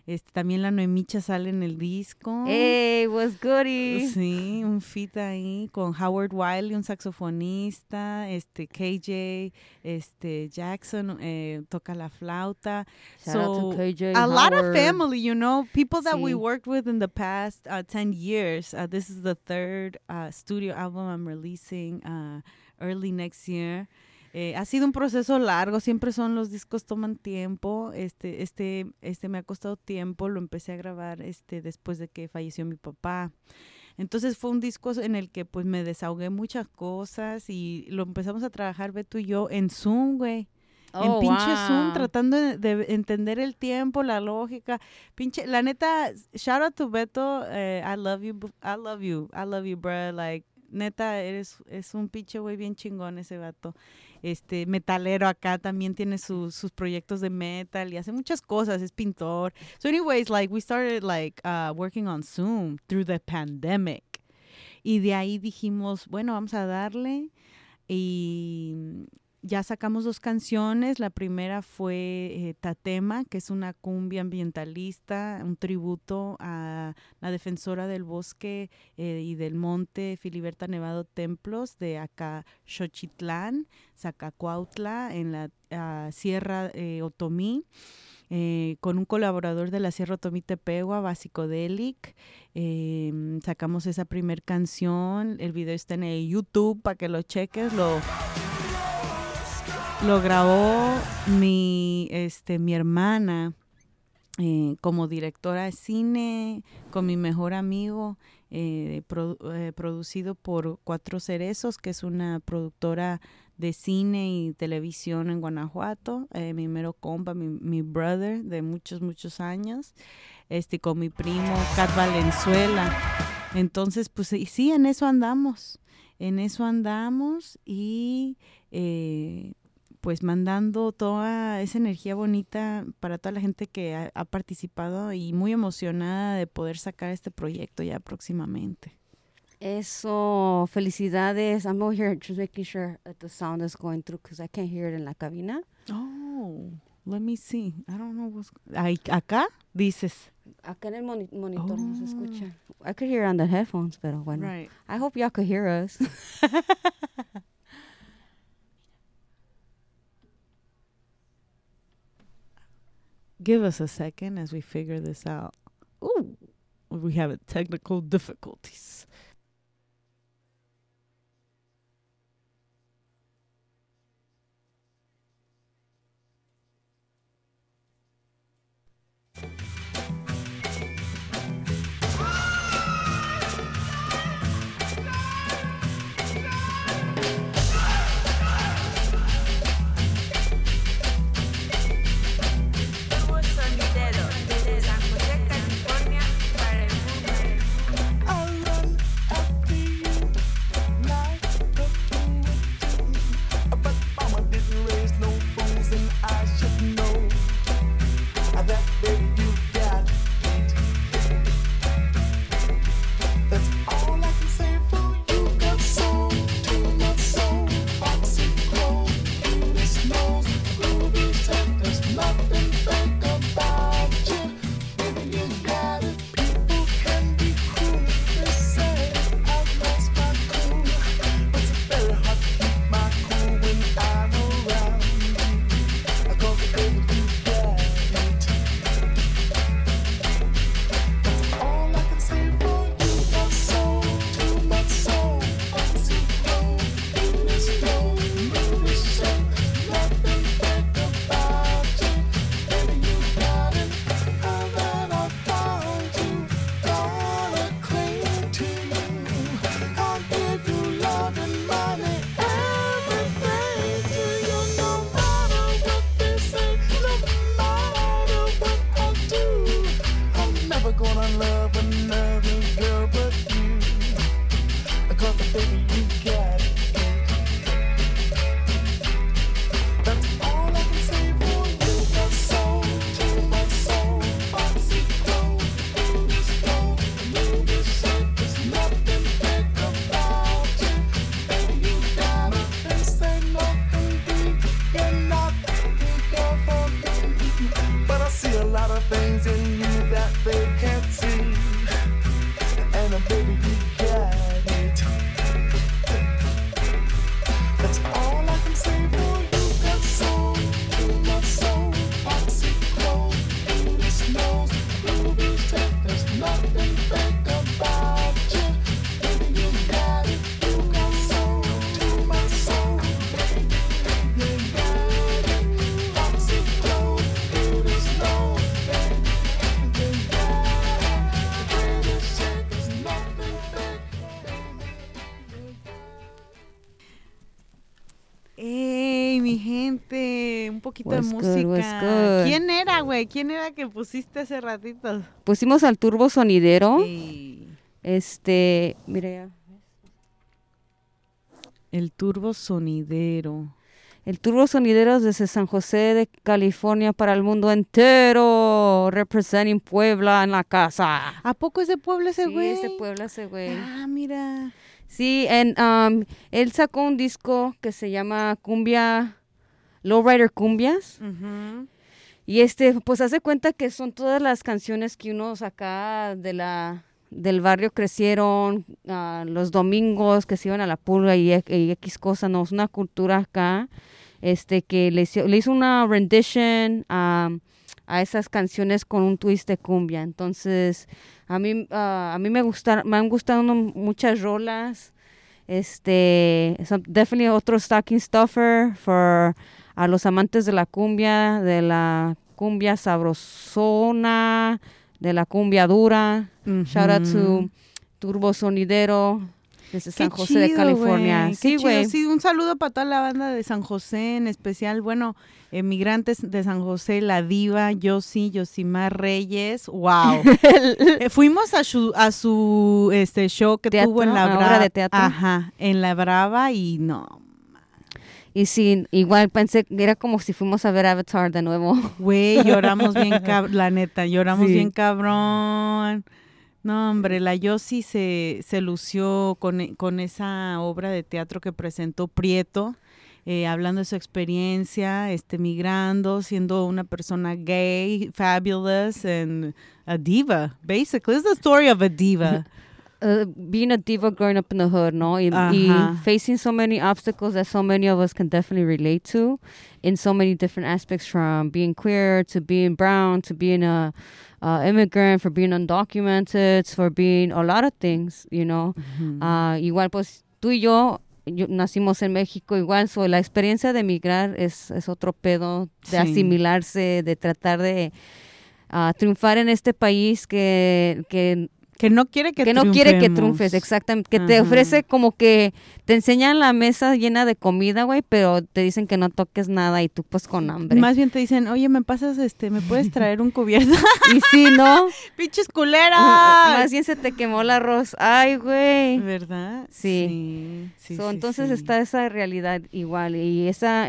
También la Noemicha sale en el disco. Hey, what's goody? Sí, un feat ahí con Howard Wiley, un saxofonista, KJ, Jackson toca la flauta. Shout out to KJ, a lot of Howard. family, you know, people that we Sí. worked with in the past 10 years. This is the third studio album I'm releasing early next year. Ha sido un proceso largo, siempre son los discos toman tiempo. Me ha costado tiempo, lo empecé a grabar después de que falleció mi papá. Entonces fue un disco en el que pues me desahogué muchas cosas y lo empezamos a trabajar Beto y yo en Zoom, güey. En pinche Zoom, tratando de entender el tiempo, la lógica. Pinche, la neta, shout out to Beto, I love you, bro. Like, neta, es un pinche güey bien chingón ese vato. Metalero acá, también tiene sus proyectos de metal y hace muchas cosas, es pintor. So anyways, like, we started like working on Zoom through the pandemic. Y de ahí dijimos, bueno, vamos a darle. Y ya sacamos 2 canciones. La primera fue Tatema, que es una cumbia ambientalista, un tributo a la defensora del bosque y del monte Filiberta Nevado Templos de acá Xochitlán, Zacacuautla, en la Sierra Otomí. Con un colaborador de la Sierra Otomí Tepehua, Basicodelic. Sacamos esa primer canción. El video está en el YouTube para que lo cheques. Lo grabó mi hermana como directora de cine, con mi mejor amigo, producido por Cuatro Cerezos, que es una productora de cine y televisión en Guanajuato, mi mero compa, mi brother de muchos, muchos años, con mi primo Cat Valenzuela. Entonces, pues sí, en eso andamos y pues mandando toda esa energía bonita para toda la gente que ha participado y muy emocionada de poder sacar este proyecto ya próximamente. Eso, felicidades. I'm over here just making sure that the sound is going through because I can't hear it in la cabina. Oh, let me see. I don't know what's... ¿Acá? Dices. Acá en el monitor no se escucha. I could hear it on the headphones, pero bueno. Right. I hope y'all could hear us. Give us a second as we figure this out. Ooh, we have technical difficulties. Desde San José, California, para el mundo. things in you un poquito Was de good, música. was good. ¿Quién era, güey? ¿Quién era que pusiste hace ratito? Pusimos al Turbo Sonidero. Sí. Mira ya. El Turbo Sonidero. El Turbo Sonideros desde San José de California para el mundo entero. Representing Puebla en la casa. ¿A poco es de Puebla ese güey? Sí, es de Puebla ese güey. Ah, mira. Sí, él sacó un disco que se llama Cumbia, Lowrider Cumbias. Ujú. Y pues hace cuenta que son todas las canciones que uno acá del barrio crecieron, los domingos que se iban a la pulga y X cosas, no, es una cultura acá, que le hizo una rendition a esas canciones con un twist de cumbia. Entonces, a mí me han gustado muchas rolas, definitely otro stocking stuffer a los amantes de la cumbia sabrosona, de la cumbia dura. Shout out to Turbo Sonidero desde San José de California. Güey. Sí, güey. Sí, un saludo para toda la banda de San José, en especial, bueno, migrantes de San José, La Diva, Yosimar Reyes. Wow. Fuimos a su show que Teatro, tuvo en la obra Brava. de teatro. Ajá, en la Brava y no. Y sí, igual pensé que era como si fuimos a ver Avatar de nuevo. Güey, lloramos bien cabrón, la neta, lloramos Sí. bien cabrón. No, hombre, la Yossi se lució con esa obra de teatro que presentó Prieto, hablando de su experiencia, migrando, siendo una persona gay, fabulous, and a diva, basically. It's the story of a diva. Being a diva growing up in the hood, ¿no? Y facing so many obstacles that so many of us can definitely relate to in so many different aspects, from being queer to being brown to being a immigrant, for being undocumented, for being a lot of things, you know. Igual, pues, tú y yo nacimos en México, igual, la experiencia de emigrar es otro pedo, de Sí. asimilarse, de tratar de triunfar en este país que no quiere que no quiere que triunfemos. triunfes, exactamente, que te Ajá. ofrece como que te enseñan la mesa llena de comida, güey, pero te dicen que no toques nada y tú pues con hambre. Más bien te dicen, oye, ¿me pasas, me puedes traer un cubierto? Y sí, ¿no? ¡Pinches culeras! Más bien se te quemó el arroz. Ay, güey. ¿Verdad? Sí. Sí, Entonces sí. está esa realidad igual, y esa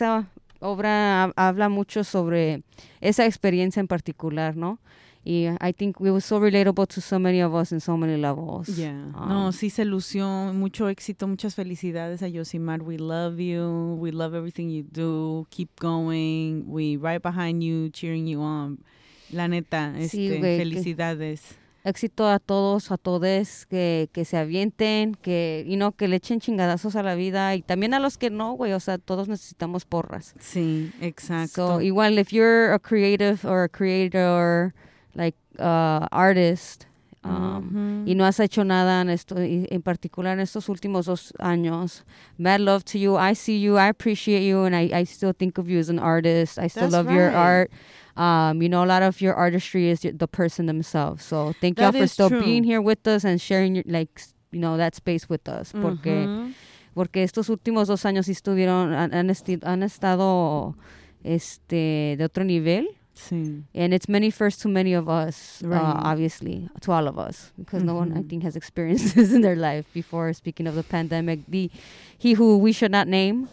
obra habla mucho sobre esa experiencia en particular, ¿no? Y I think it was so relatable to so many of us in so many levels. Yeah. No, sí se lució. Mucho éxito, muchas felicidades a Yosimar. We love you. We love everything you do. Keep going. We right behind you, cheering you on. La neta, Sí, güey, felicidades. Éxito a todos, a todes, que se avienten, que que le echen chingadazos a la vida, y también a los que no, güey, o sea, todos necesitamos porras. Sí, exacto. So, igual, if you're a creative or a creator, like artist, y no has hecho nada en particular en estos últimos 2 años, mad love to you. I see you, I appreciate you, and I still think of you as an artist. I still That's love your right. art. A lot of your artistry is the person themselves. So thank y'all That for is still true. being here with us and sharing your, that space with us. Porque estos últimos 2 años sí estuvieron, han estado de otro nivel. Sí. And it's many first to many of us, Right. obviously, to all of us, because no one, I think, has experienced this in their life before. Speaking of the pandemic, he who we should not name,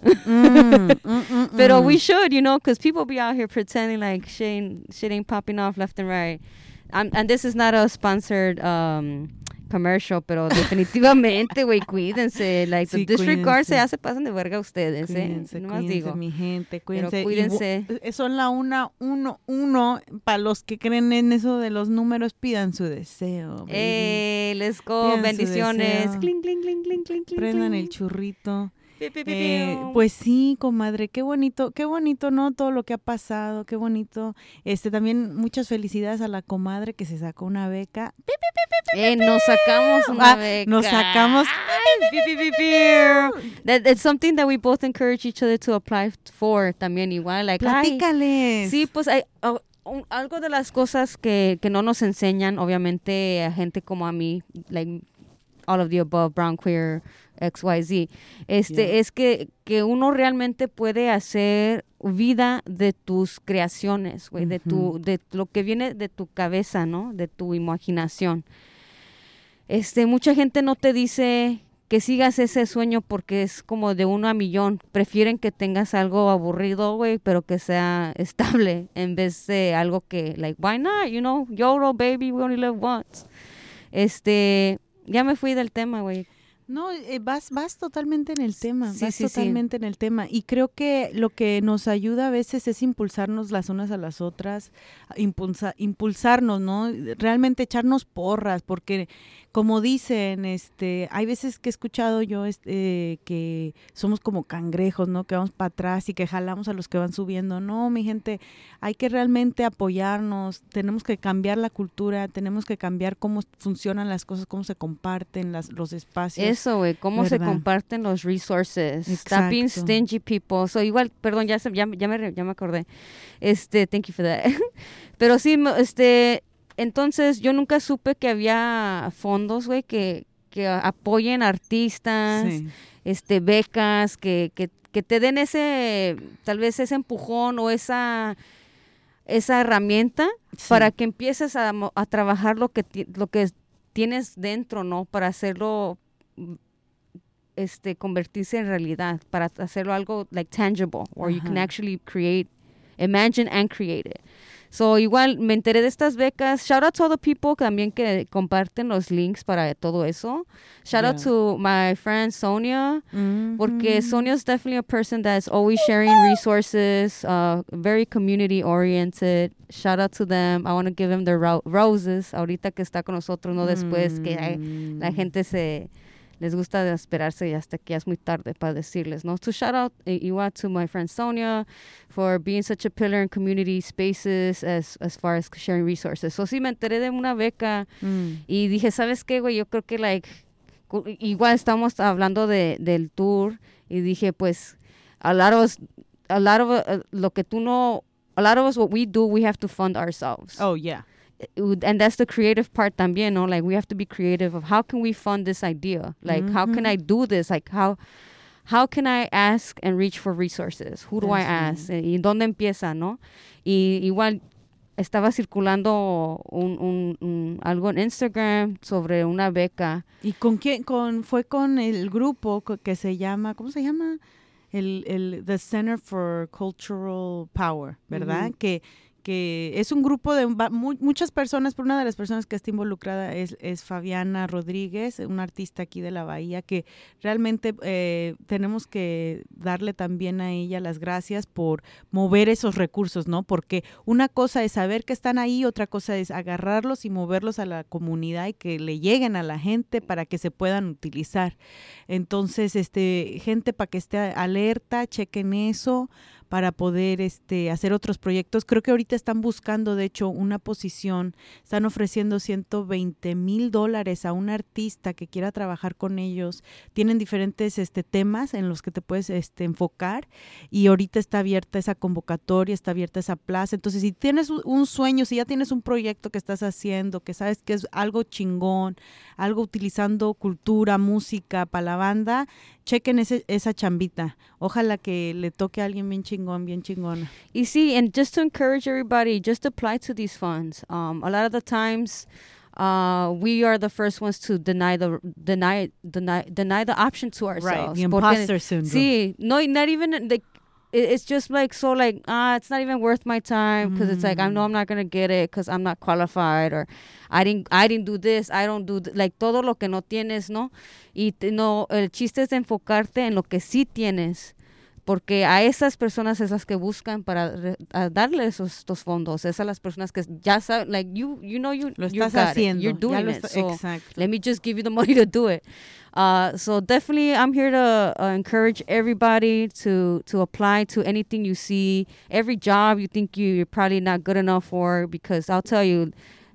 but we should, because people be out here pretending like shit ain't popping off left and right. And this is not a sponsored commercial, pero definitivamente, güey, cuídense. Like, Sí, the disregard cuídense. se pasan de verga ustedes, Cuídense, Nomás cuídense, digo. mi gente, Pero cuídense. cuídense. Son la 1-1. Para los que creen en eso de los números, pidan su deseo. baby. Let's go. Pidan su Bendiciones. deseo. Cling, cling, cling, cling, cling, cling. Prendan cling. el churrito. Pi, pi, pi, piu. Pues sí, comadre, qué bonito, ¿no? Todo lo que ha pasado, qué bonito. También muchas felicidades a la comadre que se sacó una beca. Nos sacamos una beca. Nos sacamos. Ay, pi, pi, pi, piu. It's something that we both encourage each other to apply for también igual. Like, Platícales. Sí, pues algo de las cosas que no nos enseñan, obviamente, a gente como a mí, like all of the above, brown, queer, XYZ. Es que uno realmente puede hacer vida de tus creaciones, güey, de lo que viene de tu cabeza, ¿no? De tu imaginación. Mucha gente no te dice que sigas ese sueño porque es como de 1 a millón. Prefieren que tengas algo aburrido, güey, pero que sea estable en vez de algo que, like, why not? You know, YOLO, baby, we only live once. Ya me fui del tema, güey. No, vas totalmente en el tema, Sí, sí, totalmente en el tema. Y creo que lo que nos ayuda a veces es impulsarnos las unas a las otras, impulsarnos, ¿no? Realmente echarnos porras, porque como dicen, hay veces que he escuchado yo que somos como cangrejos, ¿no? Que vamos para atrás y que jalamos a los que van subiendo. No, mi gente, hay que realmente apoyarnos, tenemos que cambiar la cultura, tenemos que cambiar cómo funcionan las cosas, cómo se comparten los espacios. Eso, güey, cómo se comparten los resources. Stop being stingy, people. So, igual, perdón, ya me acordé. Thank you for that. Pero sí, entonces yo nunca supe que había fondos, güey, que apoyen artistas, becas, que te den tal vez ese empujón o esa herramienta para que empieces a trabajar lo que tienes dentro, ¿no? Para hacerlo convertirse en realidad, para hacerlo algo like tangible, where you can actually imagine and create it. So, igual, me enteré de estas becas. Shout out to all the people también que comparten los links para todo eso. Shout out to my friend Sonia, porque Sonia is definitely a person that's always sharing resources, very community oriented. Shout out to them. I want to give them their roses, ahorita que está con nosotros, no después que la gente les gusta de esperarse y hasta que ya es muy tarde para decirles, ¿no? So shout out igual to my friend Sonia for being such a pillar in community spaces as far as sharing resources. So sí, me enteré de una beca y dije, ¿sabes qué, güey? Yo creo que, igual estamos hablando del tour y dije, pues, a lot of us, what we do, we have to fund ourselves. Oh, yeah. And that's the creative part también, no? Like, we have to be creative of how can we fund this idea? Like, how can I do this? Like, how can I ask and reach for resources? Who do I ask? ¿Y dónde empieza, no? Y igual estaba circulando algo en Instagram sobre una beca. ¿Y con quién? Fue con el grupo que se llama, ¿cómo se llama? The Center for Cultural Power, ¿verdad? Que es un grupo de muchas personas, pero una de las personas que está involucrada es Fabiana Rodríguez, una artista aquí de la Bahía, que realmente tenemos que darle también a ella las gracias por mover esos recursos, ¿no? Porque una cosa es saber que están ahí, otra cosa es agarrarlos y moverlos a la comunidad y que le lleguen a la gente para que se puedan utilizar. Entonces, gente, para que esté alerta, chequen eso, para poder hacer otros proyectos. Creo que ahorita están buscando, de hecho, una posición, están ofreciendo $120,000 a un artista que quiera trabajar con ellos. Tienen diferentes temas en los que te puedes enfocar, y ahorita está abierta esa convocatoria, está abierta esa plaza. Entonces, si tienes un sueño, si ya tienes un proyecto que estás haciendo, que sabes que es algo chingón, algo utilizando cultura, música para la banda, chequen esa chambita. Ojalá que le toque a alguien bien chingona. Y sí, and just to encourage everybody, just apply to these funds. A lot of the times, we are the first ones to deny the option to ourselves. Right, the imposter syndrome. Sí, no, not even like. It's just like, so like, it's not even worth my time, because it's like, I know I'm not going to get it because I'm not qualified, or I didn't do this, I don't do like todo lo que no tienes, ¿no? Y no, el chiste es enfocarte en lo que sí tienes, porque a esas personas es las que buscan para darle estos fondos, esas las personas que ya saben, like, you know, lo estás haciendo, you're doing it, so exacto. Let me just give you the money to do it. So definitely, I'm here to encourage everybody to apply to anything you see, every job you think you're probably not good enough for, because I'll tell you,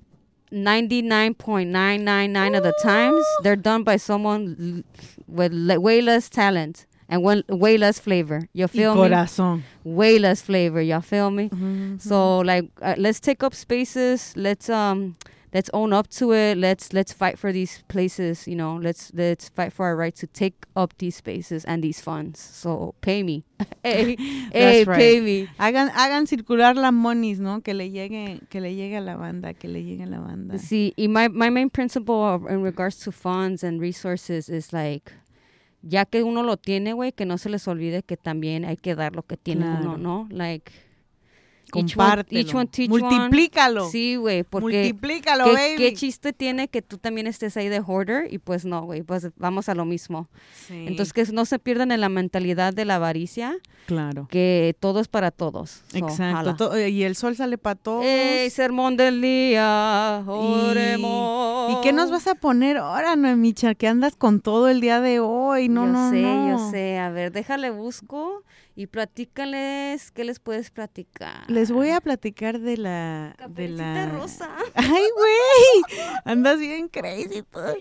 99.999 of the times, they're done by someone with way less talent and way less flavor. You feel me? Corazón. Way less flavor. You feel me? Mm-hmm. So, like, let's take up spaces. Let's let's own up to it. Let's fight for these places. You know, let's fight for our right to take up these spaces and these funds. So pay me, hey, That's right. pay me. Hagan circular las monies, ¿no? Que le llegue a la banda, que le llegue a la banda. See, my main principle in regards to funds and resources is like, ya que uno lo tiene, güey, que no se les olvide que también hay que dar lo que tiene Claro. uno, ¿no? Like, Compártelo. each one teach Multiplícalo. one. Sí, güey, porque Multiplícalo, baby. ¿qué chiste tiene que tú también estés ahí de hoarder? Y pues no, güey, pues vamos a lo mismo. Sí. Entonces, que no se pierdan en la mentalidad de la avaricia, Claro. que todo es para todos. So, Exacto. jala. Y el sol sale para todos. ¡Ey, sermón del día! Oremos. ¿Y qué nos vas a poner ahora, Noemicha? Que andas con todo el día de hoy. No, Yo sé. A ver, déjale busco y platícales. ¿Qué les puedes platicar? Les voy a platicar de la... Caperucita Rosa. ¡Ay, güey! Andas bien crazy.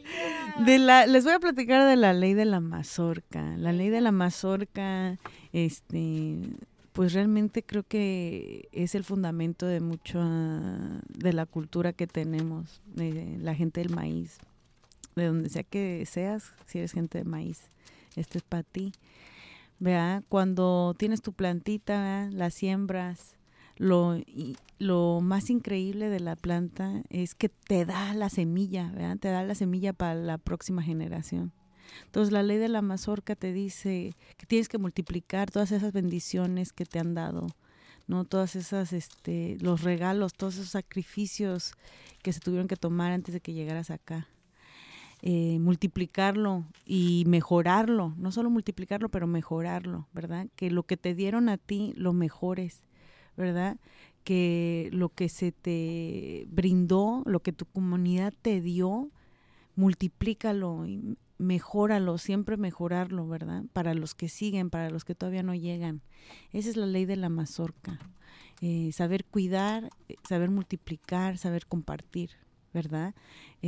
Les voy a platicar de la ley de la mazorca. La ley de la mazorca, pues realmente creo que es el fundamento de mucho de la cultura que tenemos, de la gente del maíz. De donde sea que seas, si eres gente de maíz, este es para ti. ¿Verdad? Cuando tienes tu plantita, ¿verdad? La siembras, lo más increíble de la planta es que te da la semilla, ¿verdad? Te da la semilla para la próxima generación. Entonces la ley de la mazorca te dice que tienes que multiplicar todas esas bendiciones que te han dado, ¿no? Todas esas, los regalos, todos esos sacrificios que se tuvieron que tomar antes de que llegaras acá. Multiplicarlo y mejorarlo, no solo multiplicarlo, pero mejorarlo, ¿verdad? Que lo que te dieron a ti lo mejores, ¿verdad? Que lo que se te brindó, lo que tu comunidad te dio, multiplícalo y mejóralo, siempre mejorarlo, ¿verdad? Para los que siguen, para los que todavía no llegan. Esa es la ley de la mazorca. Saber cuidar, saber multiplicar, saber compartir, ¿verdad?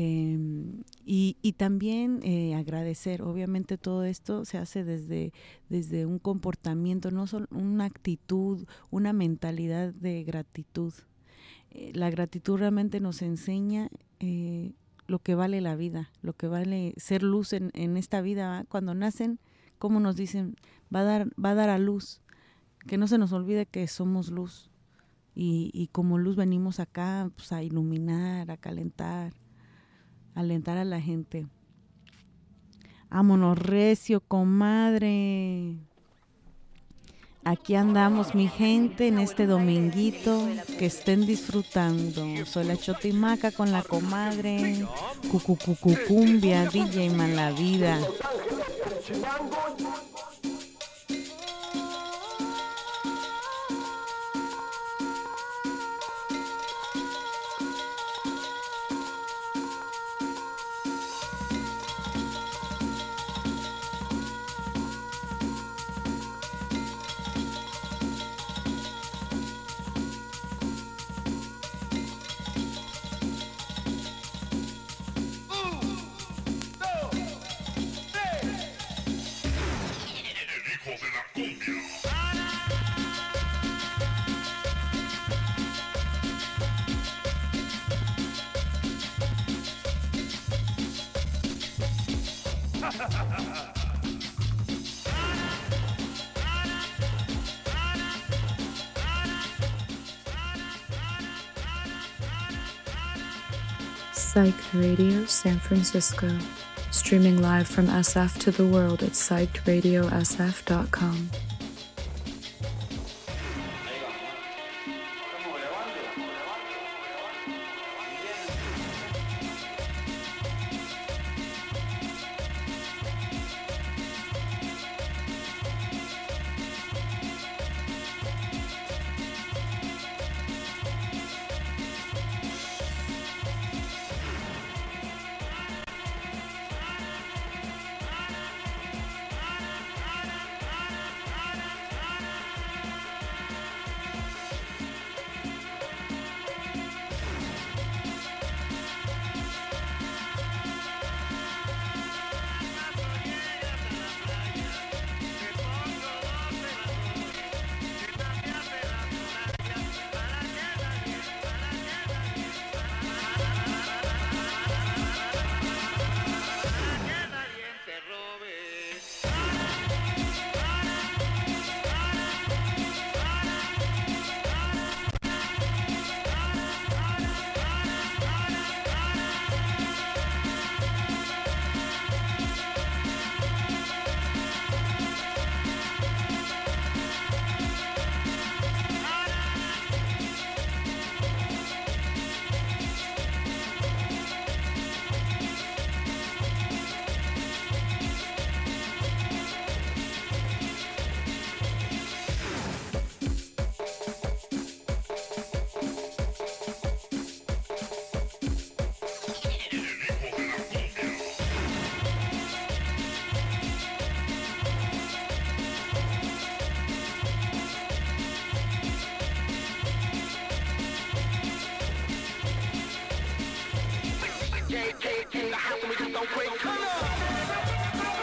Y también agradecer. Obviamente todo esto se hace desde un comportamiento, no solo una actitud, una mentalidad de gratitud. La gratitud realmente nos enseña lo que vale la vida, lo que vale ser luz en esta vida, ¿verdad? Cuando nacen, como nos dicen, va a dar a luz, que no se nos olvide que somos luz. Y como luz venimos acá, pues, a iluminar, a calentar, a alentar a la gente. Vámonos recio, comadre. Aquí andamos, mi gente, en este dominguito. Que estén disfrutando. Soy la Chotimaca con la comadre. Cucucucucumbia, DJ Malavida. Psych Radio San Francisco, streaming live from SF to the world at psychedradiosf.com. In the house and we just don't quit. Come on.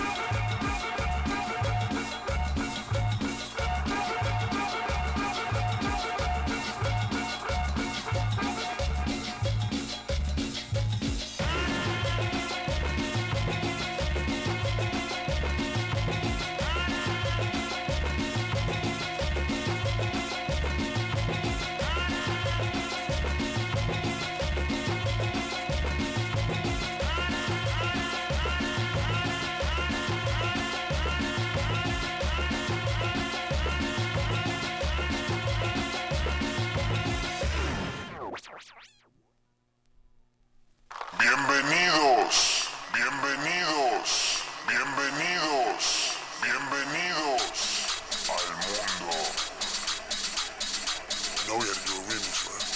Bienvenidos, bienvenidos, bienvenidos, bienvenidos al mundo. No voy a do a remix, man.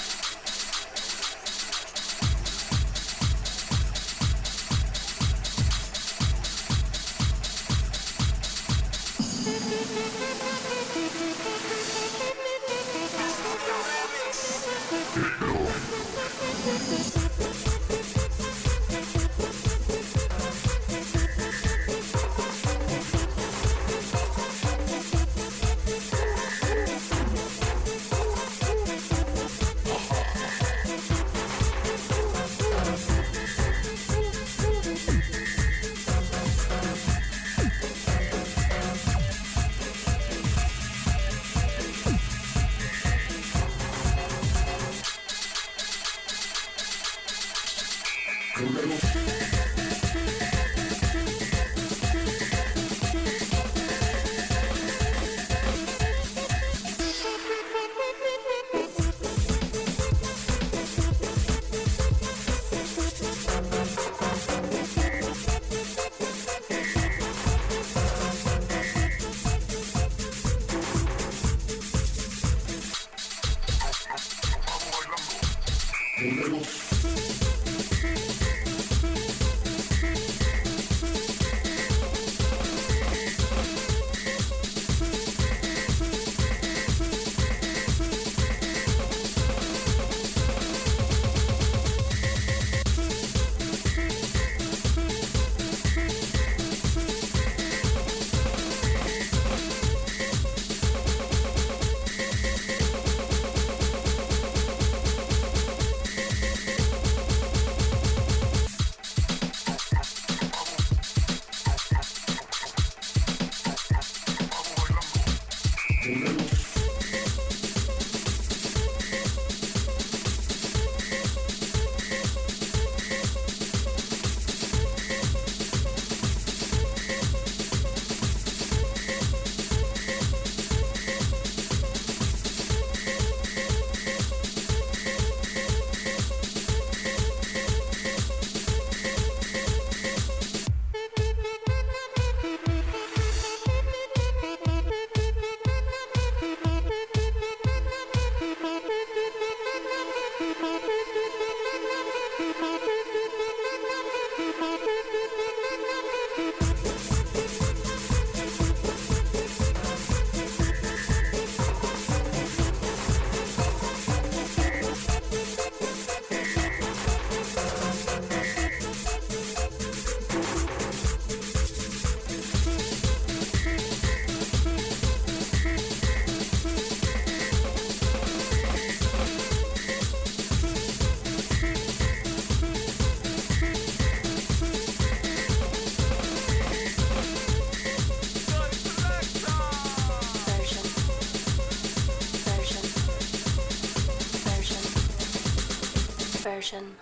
version.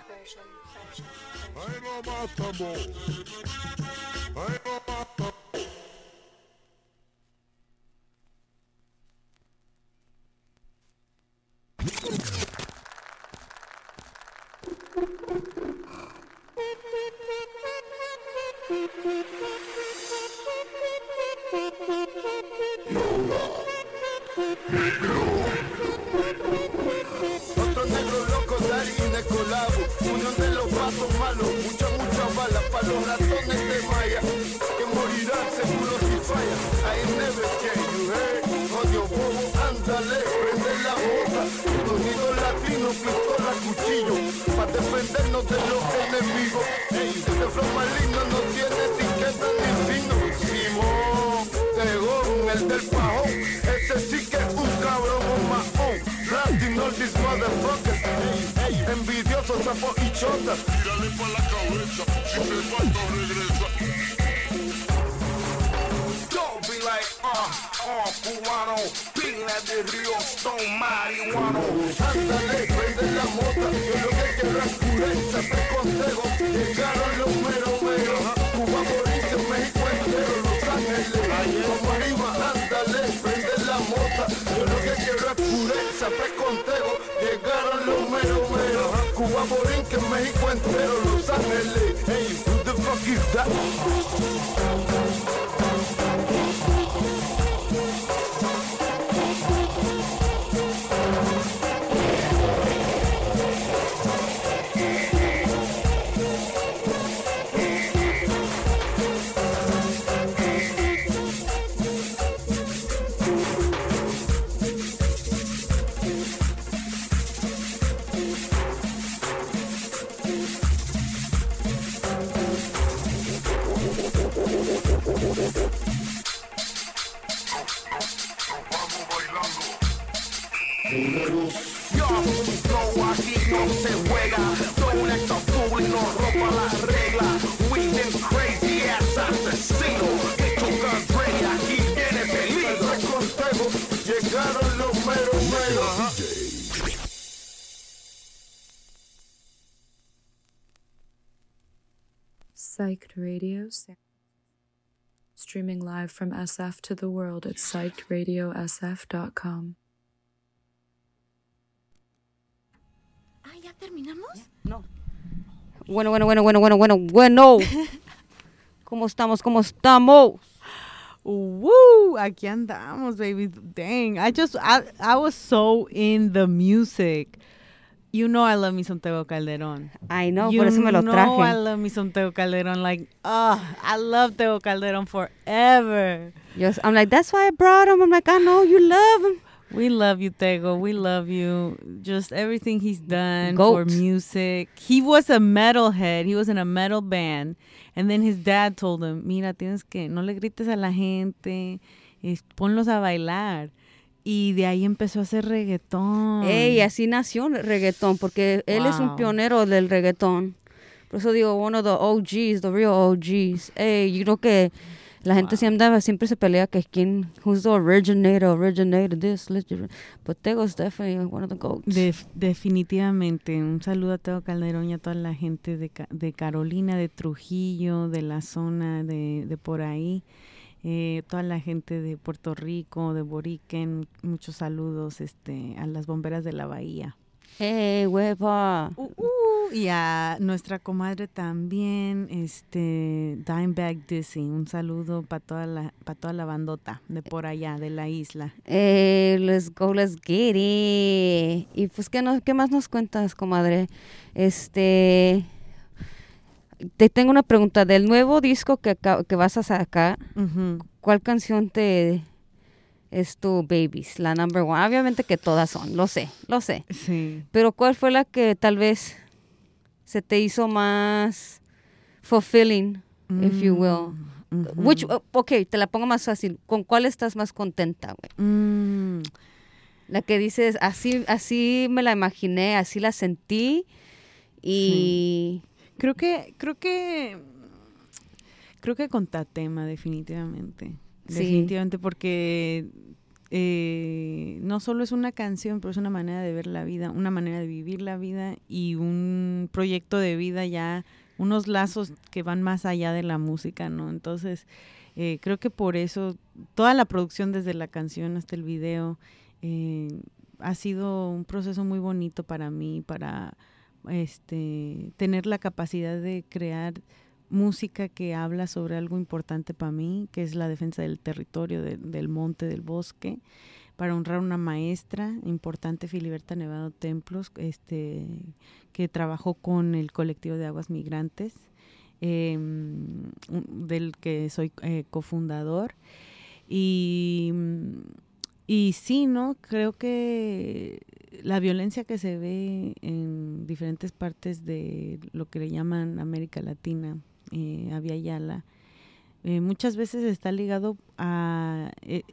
Ahí no matamos. Ahí no matamos. Otro negro loco, Dari de colabo. Unión de los vatos malos. Mucha bala para los ratones de Maya, que morirán seguro si falla. I never can you heard. Odio bobo, ándale, prende la bota. Sonido latino, mano, pistola, cuchillo, para defendernos de los enemigos. Ey, este flow maligno no tiene etiqueta ni signo. Simón, Tegón, el del pajón, ese sí que es un cabrón, un mahón. Blasting all these motherfuckers. Ey, ey, envidiosos, sapos y chotas. Tírale pa' la cabeza, si se va no regresa. Don't be like, cubano, pila de río, stone marihuano. Ándale, prende la mota, yo lo que quiero es pureza, te consejo. Llegaron los meros meros, Cuba, Mauricio, México entero, Los Ángeles. Como arriba, ándale, prende la mota, yo lo que quiero es pureza, te consejo. Llegaron los meros meros, Cuba, Mauricio, México entero, Los Ángeles. Hey, who the fuck is that? Yo, no, aquí no se juega. Don't act a fool y no rompa la regla. We them crazy ass asesinos. Que tocan rey, aquí viene peligro. El consejo, llegaron los meros meros. Psyched Radio, streaming live from SF to the world at psychedradiosf.com. ¿Ya terminamos? No. Bueno. ¿Cómo estamos? Woo! Aquí andamos, baby. Dang. I was so in the music. You know I love me some Tego Calderón. I know, por eso me lo traje. You know I love me some Tego Calderón. Like, I love Tego Calderón forever. Yes, I'm like, that's why I brought him. I'm like, I know you love him. We love you, Tego. We love you. Just everything he's done Goat. for music. He was a metalhead. He was in a metal band. And then his dad told him, mira, tienes que, no le grites a la gente, ponlos a bailar. Y de ahí empezó a hacer reggaetón. Ey, así nació el reggaetón, porque él es un pionero del reggaetón. Por eso digo, one of the OGs, the real OGs. Ey, yo creo que la gente siempre se pelea que who's the originator this. But Tego's definitely one of the goats. Definitivamente. Un saludo a Tego Calderón y a toda la gente de Carolina, de Trujillo, de la zona de por ahí. Toda la gente de Puerto Rico, de Boriquen, muchos saludos a las bomberas de la bahía. ¡Hey, hueva! Y a nuestra comadre también, Dimebag Dizzy, un saludo para toda la bandota de por allá, de la isla. Let's get it. Y pues, ¿qué más nos cuentas, comadre? Te tengo una pregunta. Del nuevo disco que vas a sacar, ¿cuál canción es tu Babies? La number one. Obviamente que todas son, lo sé. Sí. Pero ¿cuál fue la que tal vez se te hizo más fulfilling, if you will? Okay, te la pongo más fácil. ¿Con cuál estás más contenta, güey? La que dices, así me la imaginé, así la sentí y... Sí. Creo que con Tatema, definitivamente. Sí. Definitivamente, porque no solo es una canción, pero es una manera de ver la vida, una manera de vivir la vida y un proyecto de vida ya, unos lazos que van más allá de la música, ¿no? Entonces, creo que por eso toda la producción, desde la canción hasta el video, ha sido un proceso muy bonito para mí, para tener la capacidad de crear música que habla sobre algo importante para mí, que es la defensa del territorio, del monte, del bosque, para honrar a una maestra importante, Filiberta Nevado Templos, que trabajó con el colectivo de aguas migrantes, del que soy cofundador. Y Y sí, ¿no? Creo que la violencia que se ve en diferentes partes de lo que le llaman América Latina, Abya Yala, muchas veces está ligado a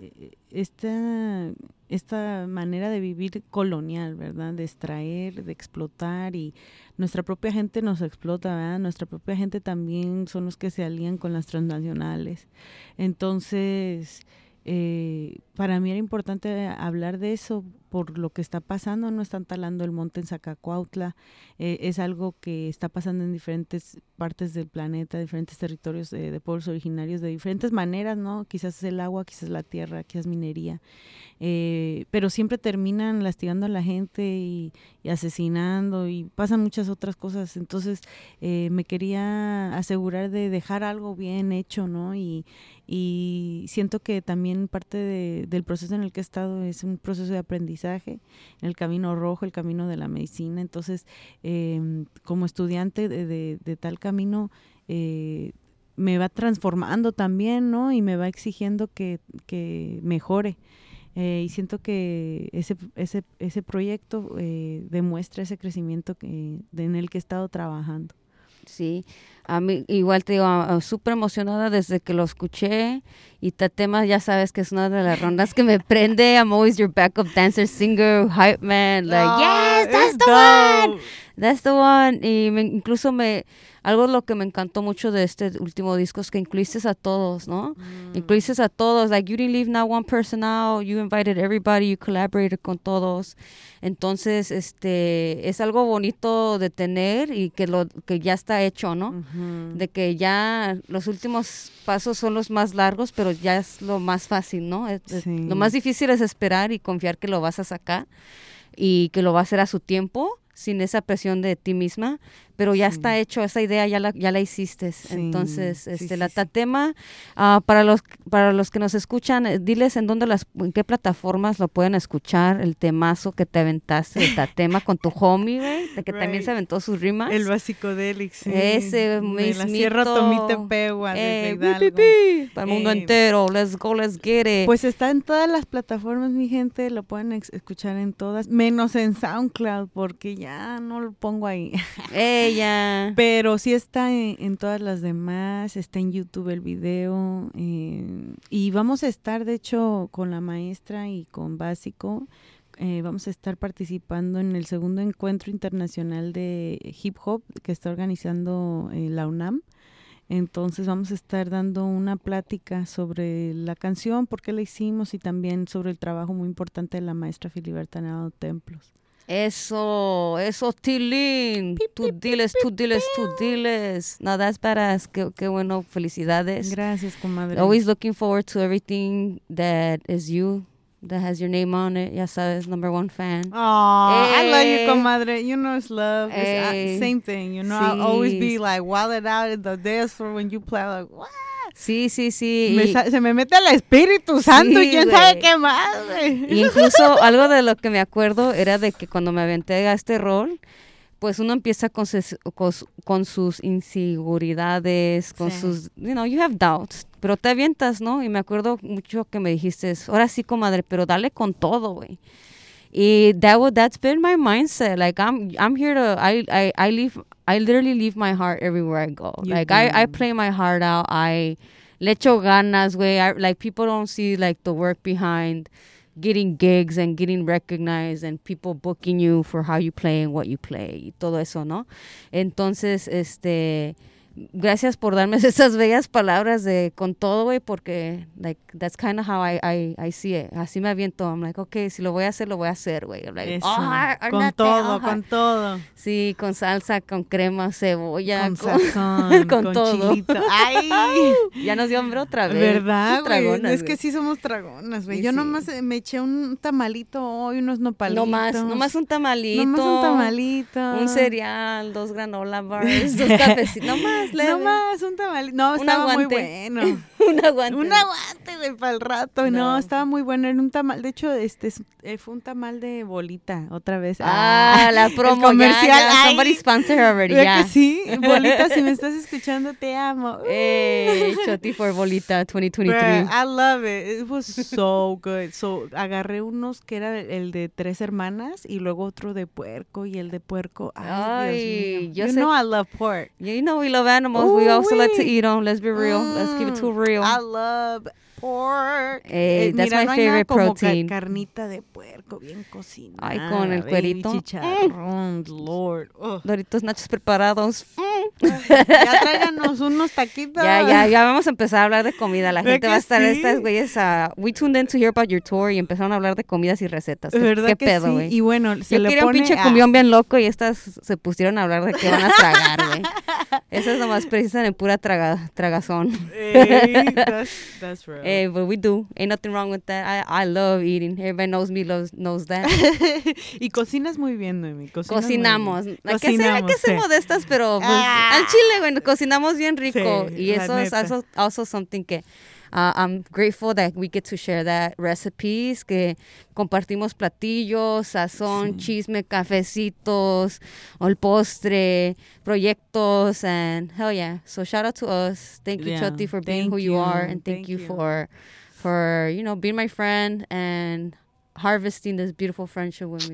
esta manera de vivir colonial, ¿verdad? De extraer, de explotar, y nuestra propia gente nos explota, ¿verdad? Nuestra propia gente también son los que se alían con las transnacionales. Entonces, para mí era importante hablar de eso por lo que está pasando. No están talando el monte en Zacacuautla, es algo que está pasando en diferentes partes del planeta, diferentes territorios de pueblos originarios de diferentes maneras, ¿no? Quizás es el agua, quizás la tierra, quizás minería, pero siempre terminan lastigando a la gente y asesinando, y pasan muchas otras cosas. Entonces me quería asegurar de dejar algo bien hecho, ¿no? Y siento que también parte del proceso en el que he estado es un proceso de aprendizaje, en el camino rojo, el camino de la medicina. Entonces, como estudiante de tal camino, me va transformando también, ¿no? Y me va exigiendo que mejore. Y siento que ese proyecto demuestra ese crecimiento en el que he estado trabajando. Sí, a mí igual te digo, súper emocionada desde que lo escuché, y Tatema ya sabes que es una de las rondas que me prende. I'm always your backup dancer, singer, hype man, like, yes, that's the one, that's the one. Y incluso algo de lo que me encantó mucho de este último disco es que incluiste a todos, ¿no? Incluiste a todos, like, you didn't leave not one person out, you invited everybody, you collaborated con todos. Entonces, es algo bonito de tener, y que ya está hecho, ¿no? De que ya los últimos pasos son los más largos, pero ya es lo más fácil, ¿no? Sí. Lo más difícil es esperar y confiar que lo vas a sacar y que lo va a hacer a su tiempo, sin esa presión de ti misma, pero ya está hecho, esa idea ya la hiciste. Sí. Entonces, la Tatema, para los que nos escuchan, diles en qué plataformas lo pueden escuchar, el temazo que te aventaste de Tatema con tu homie, güey, de que también se aventó sus rimas. El Basicodelix, sí. Ese de la Sierra Tomitepegua, desde Hidalgo. Para el mundo entero, let's go, let's get it. Pues está en todas las plataformas, mi gente, lo pueden escuchar en todas, menos en SoundCloud, porque ya no lo pongo ahí. Ya. Pero sí está en todas las demás, está en YouTube el video, y vamos a estar, de hecho, con la maestra y con Básico, vamos a estar participando en el segundo encuentro internacional de hip hop que está organizando la UNAM. Entonces vamos a estar dando una plática sobre la canción, por qué la hicimos, y también sobre el trabajo muy importante de la maestra Filiberta Nevado Templos. Eso, Tilín. Tú diles. No, that's badass. Qué bueno, felicidades. Gracias, comadre. Always looking forward to everything that is you, that has your name on it. Ya sabes, #1 fan. Oh, I love you, comadre. You know it's love. It's, same thing, you know. Sí. I'll always be like wilded out in the dance floor when you play, like, what? Sí. Se me mete el Espíritu Santo, y quién sabe qué más, güey. Incluso algo de lo que me acuerdo era de que cuando me aventé a este rol, pues uno empieza con sus inseguridades, con sus, you have doubts, pero te avientas, ¿no? Y me acuerdo mucho que me dijiste, ahora sí, comadre, pero dale con todo, güey. Y that's been my mindset. Like, I'm here to, I literally leave my heart everywhere I go. I play my heart out. Le echo ganas, güey. Like, people don't see, like, the work behind getting gigs and getting recognized and people booking you for how you play and what you play y todo eso, ¿no? Entonces, gracias por darme esas bellas palabras de con todo, güey, porque, like, that's kind of how I see it. Así me aviento. I'm like, okay, si lo voy a hacer, güey. Like, con todo. Sí, con salsa, con crema, cebolla. Con sazón, con todo. Chilito. ¡Ay! Ya nos dio hambre otra vez. ¿Verdad, güey? Tragonas, es que sí somos dragonas, güey. Yo nomás me eché un tamalito hoy, unos nopalitos. Nomás un tamalito. Un cereal, 2 granola bars, 2 cafecitos. Nomás un tamalito. No, estaba muy bueno. Un aguante. Un aguante, güey, para el rato. No, estaba muy bueno. Era un tamal. De hecho, fue un tamal de bolita, otra vez. La promo. El comercial. Ya. Somebody sponsor her already, ¿Verdad ya. que sí? Bolita, si me estás escuchando, te amo. Choti for Bolita 2023. Bruh, I love it. It was so good. So, agarré unos que era el de 3 hermanas y luego otro de puerco y el de puerco. Ay, Dios mío. You know I love pork. Yeah, you know we love animals. We also like to eat them. Let's be real. Let's keep it too real. I love pork. That's mira, my no hay favorite nada como protein. Carnita de puerco bien cocinada. Ay, con el baby, cuerito. Chicharrón, Lord. Doritos nachos preparados. Ya tráiganos unos taquitos. Ya vamos a empezar a hablar de comida. La gente va a estar, sí? estas güeyes, we tuned in to hear about your tour y empezaron a hablar de comidas y recetas. ¿Verdad ¿Qué que pedo, sí? güey? Y bueno, se Yo le quería pone un pinche cumbión bien loco y estas se pusieron a hablar de qué van a tragar, güey. Esas nomás precisan en pura tragazón. Hey, that's real. But we do. Ain't nothing wrong with that. I love eating. Everybody knows me, knows that. Y cocinas muy bien, Noemi. Cocinamos. Hay que Cocinamos, ser modestas, pero pues, al chile, güey, cocinamos bien rico. Sí, y la eso es neta. also something que I'm grateful that we get to share that recipes, que compartimos platillos, sazón, chisme, cafecitos, o el postre, proyectos, and hell yeah. So shout out to us. Thank you, Yeah, Choti, for being thank who you you, are, and thank you for being my friend and harvesting this beautiful friendship with me.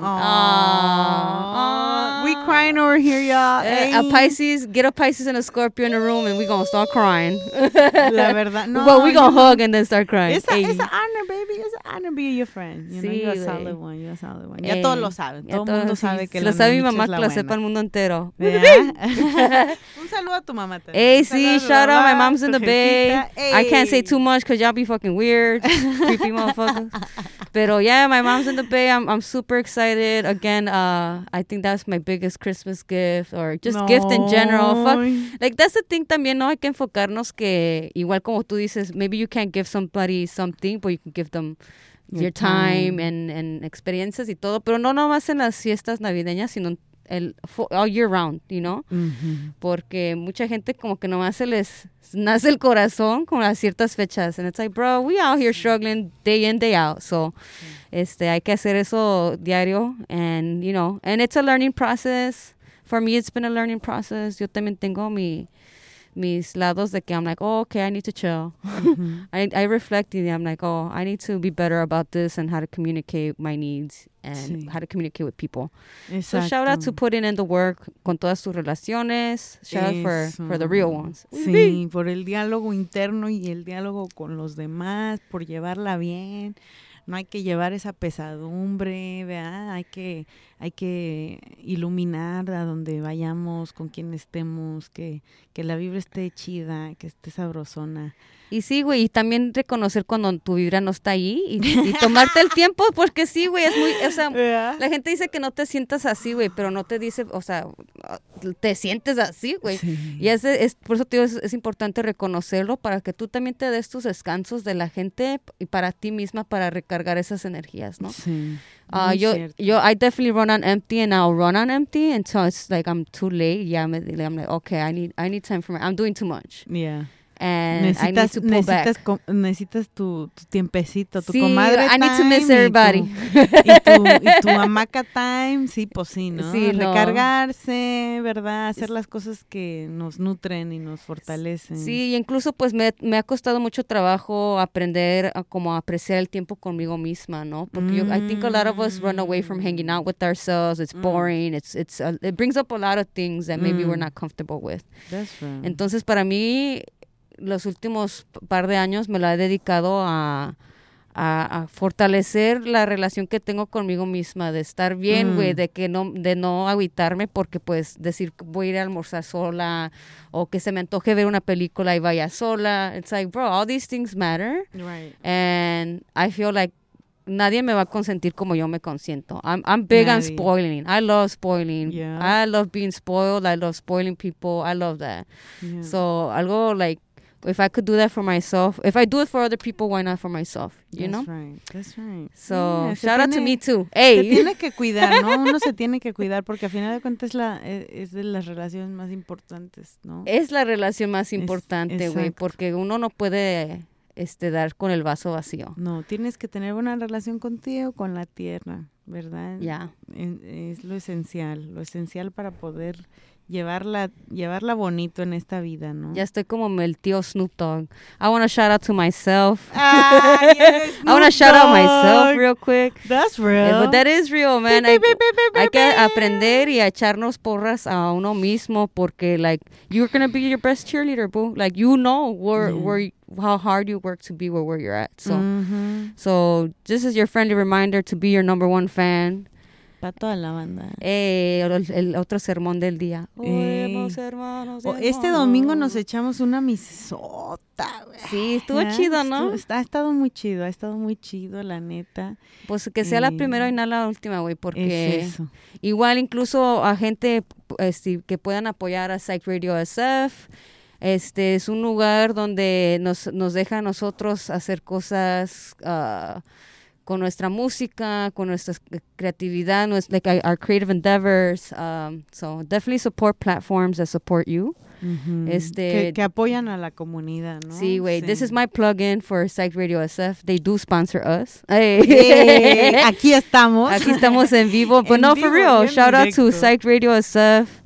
Aww. We crying over here, y'all. A Pisces, get a Pisces and a Scorpio in the room and we gonna start crying. La verdad, no. Well, we gonna hug and then start crying. It's an honor, baby. It's an honor be your friend. You know, Sí, you're a güey. solid one. You're a solid one. Ya todos lo saben. Ya Todo el mundo sí. sabe que Si la lo sabe mi Namicha mamá, es la que lo buena. sepa el mundo entero. ¿Verdad? Un saludo a tu mamá también. Hey, Un see, saludo a shout tu out. My mamá, mom's in tu the bay. jefita. I can't say Ey. too much because y'all be fucking weird. Creepy motherfuckers. Pero yeah, my mom's in the bay. I'm super excited. Again, I think that's my biggest Christmas gift or just gift in general. Fuck. Like, that's the thing también, ¿no? Hay que enfocarnos que, igual como tú dices, maybe you can't give somebody something, but you can give them your time and experiencias y todo. Pero no nomás en las fiestas navideñas, sino all year round, you know? Porque mucha gente como que nomás se les nace el corazón con las ciertas fechas. And it's like, bro, we out here struggling day in, day out. So, hay que hacer eso diario. And, you know, and it's a learning process. For me, it's been a learning process. Yo también tengo mis lados de que I'm like, oh, okay, I need to chill. I reflect and I'm like, oh, I need to be better about this and how to communicate my needs and how to communicate with people. So shout out to putting in the work con todas tus relaciones. Shout out for the real ones. Sí, por el diálogo interno y el diálogo con los demás, por llevarla bien. No hay que llevar esa pesadumbre, ¿verdad? Hay que iluminar a donde vayamos, con quien estemos, que la vibra esté chida, que esté sabrosona. Y sí, güey, y también reconocer cuando tu vibra no está ahí y tomarte el tiempo, porque sí, güey, es muy, o sea, la gente dice que no te sientas así, güey, pero no te dice, o sea, te sientes así, güey. Sí. Y por eso te digo, es importante reconocerlo para que tú también te des tus descansos de la gente y para ti misma para recargar esas energías, ¿no? Sí. I definitely run on empty and I'll run on empty until it's like I'm too late. Yeah, I'm like, okay, I need time for I'm doing too much. Yeah. And I need to pull back. Necesitas tu tiempecito, tu sí, comadre I need to miss time everybody. y tu hamaca time, sí, pues sí, ¿no? Sí, recargarse, ¿verdad? Hacer las cosas que nos nutren y nos fortalecen. Sí, incluso pues me ha costado mucho trabajo aprender a como apreciar el tiempo conmigo misma, ¿no? Porque I think a lot of us run away from hanging out with ourselves. It's boring. It brings up a lot of things that maybe we're not comfortable with. That's right. Entonces, para mí, los últimos par de años me la he dedicado a fortalecer la relación que tengo conmigo misma, de estar bien, güey, de no agüitarme porque pues decir voy a ir a almorzar sola o que se me antoje ver una película y vaya sola. It's like, bro, all these things matter. Right. And I feel like nadie me va a consentir como yo me consiento. I'm big on spoiling. I love spoiling. Yeah. I love being spoiled. I love spoiling people. I love that. Yeah. So algo like if I could do that for myself, if I do it for other people, why not for myself? You That's know? right. That's right. So Yeah, se shout out to tiene- me too. Se Hey. tiene que cuidar, ¿no? Uno se tiene que cuidar porque al final de cuentas es de las relaciones más importantes, ¿no? Es la relación más importante, güey, exacto. porque uno no puede dar con el vaso vacío. No, tienes que tener una relación contigo, con la tierra, ¿verdad? Ya. Es lo esencial para poder llevarla bonito en esta vida, ¿no? Ya estoy como el tío Snoop Dogg. I want to shout out to myself. Ay, eres I want to Snoop shout out Dogg. myself real quick. That's real. But that is real, man. Hay que aprender y a echarnos porras a uno mismo porque, like, you're going to be your best cheerleader, boo. Like, you know how hard you work to be where you're at. So, so this is your friendly reminder to be your number one fan. Para toda la banda. El otro sermón del día. Oemos, hermanos, Este domingo nos echamos una misota, güey. Sí, estuvo chido, ¿no? Ha estado muy chido, la neta. Pues que sea la primera y no la última, güey, porque Es eso. igual incluso a gente que puedan apoyar a Psych Radio SF. Es un lugar donde nos deja a nosotros hacer cosas con nuestra música, con nuestra creatividad, like our creative endeavors. So definitely support platforms that support you. Ujú. Que apoyan a la comunidad, ¿no? Sí, güey. Sí. This is my plug-in for Psych Radio SF. They do sponsor us. Hey, aquí estamos. Aquí estamos en vivo. But En no, vivo, for real. bien Shout out to directo. Psych Radio SF.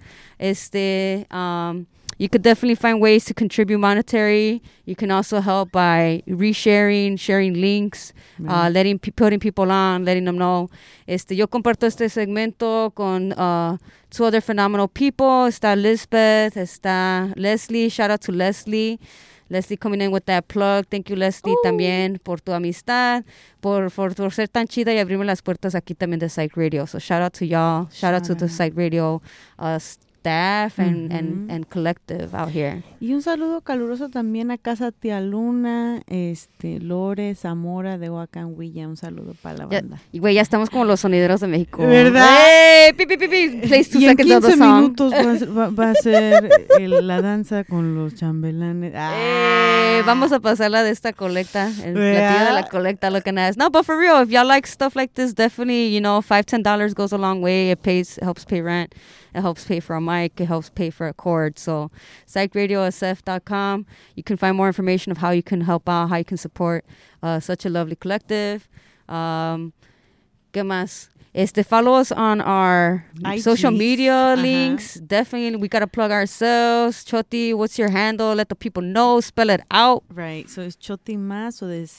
You could definitely find ways to contribute monetary. You can also help by resharing, sharing links, putting people on, letting them know. Yo comparto este segmento con two other phenomenal people. Está Lisbeth, está Leslie. Shout out to Leslie. Leslie coming in with that plug. Thank you, Leslie, también por tu amistad, por ser tan chida y abrirme las puertas aquí también de Psych Radio. So shout out to y'all. Shout out to the Psych Radio staff and collective out here. Y un saludo caluroso también a Casa Tía Luna, Lore, Zamora de Huacanhuilla. Un saludo para la banda. Y güey, ya estamos como los sonideros de México. ¿Verdad? ¡Hey! Pi, pi, pi, pi. Plays 2 Y en seconds of the 15 song. minutos va a ser la danza con los chambelanes. Vamos a pasarla de esta colecta, el ¿Verdad? platillo de la colecta, looking at us. No, but for real, if y'all like stuff like this, definitely, $5-10 goes a long way. It helps pay rent. It helps pay for a mic. It helps pay for a cord. So, psychradiosf.com. You can find more information of how you can help out, how you can support such a lovely collective. ¿Qué más? Follow us on our IGs. social media Ajá. links. Definitely, we got to plug ourselves. Choti, what's your handle? Let the people know. Spell it out. Right, so es Chotima, so es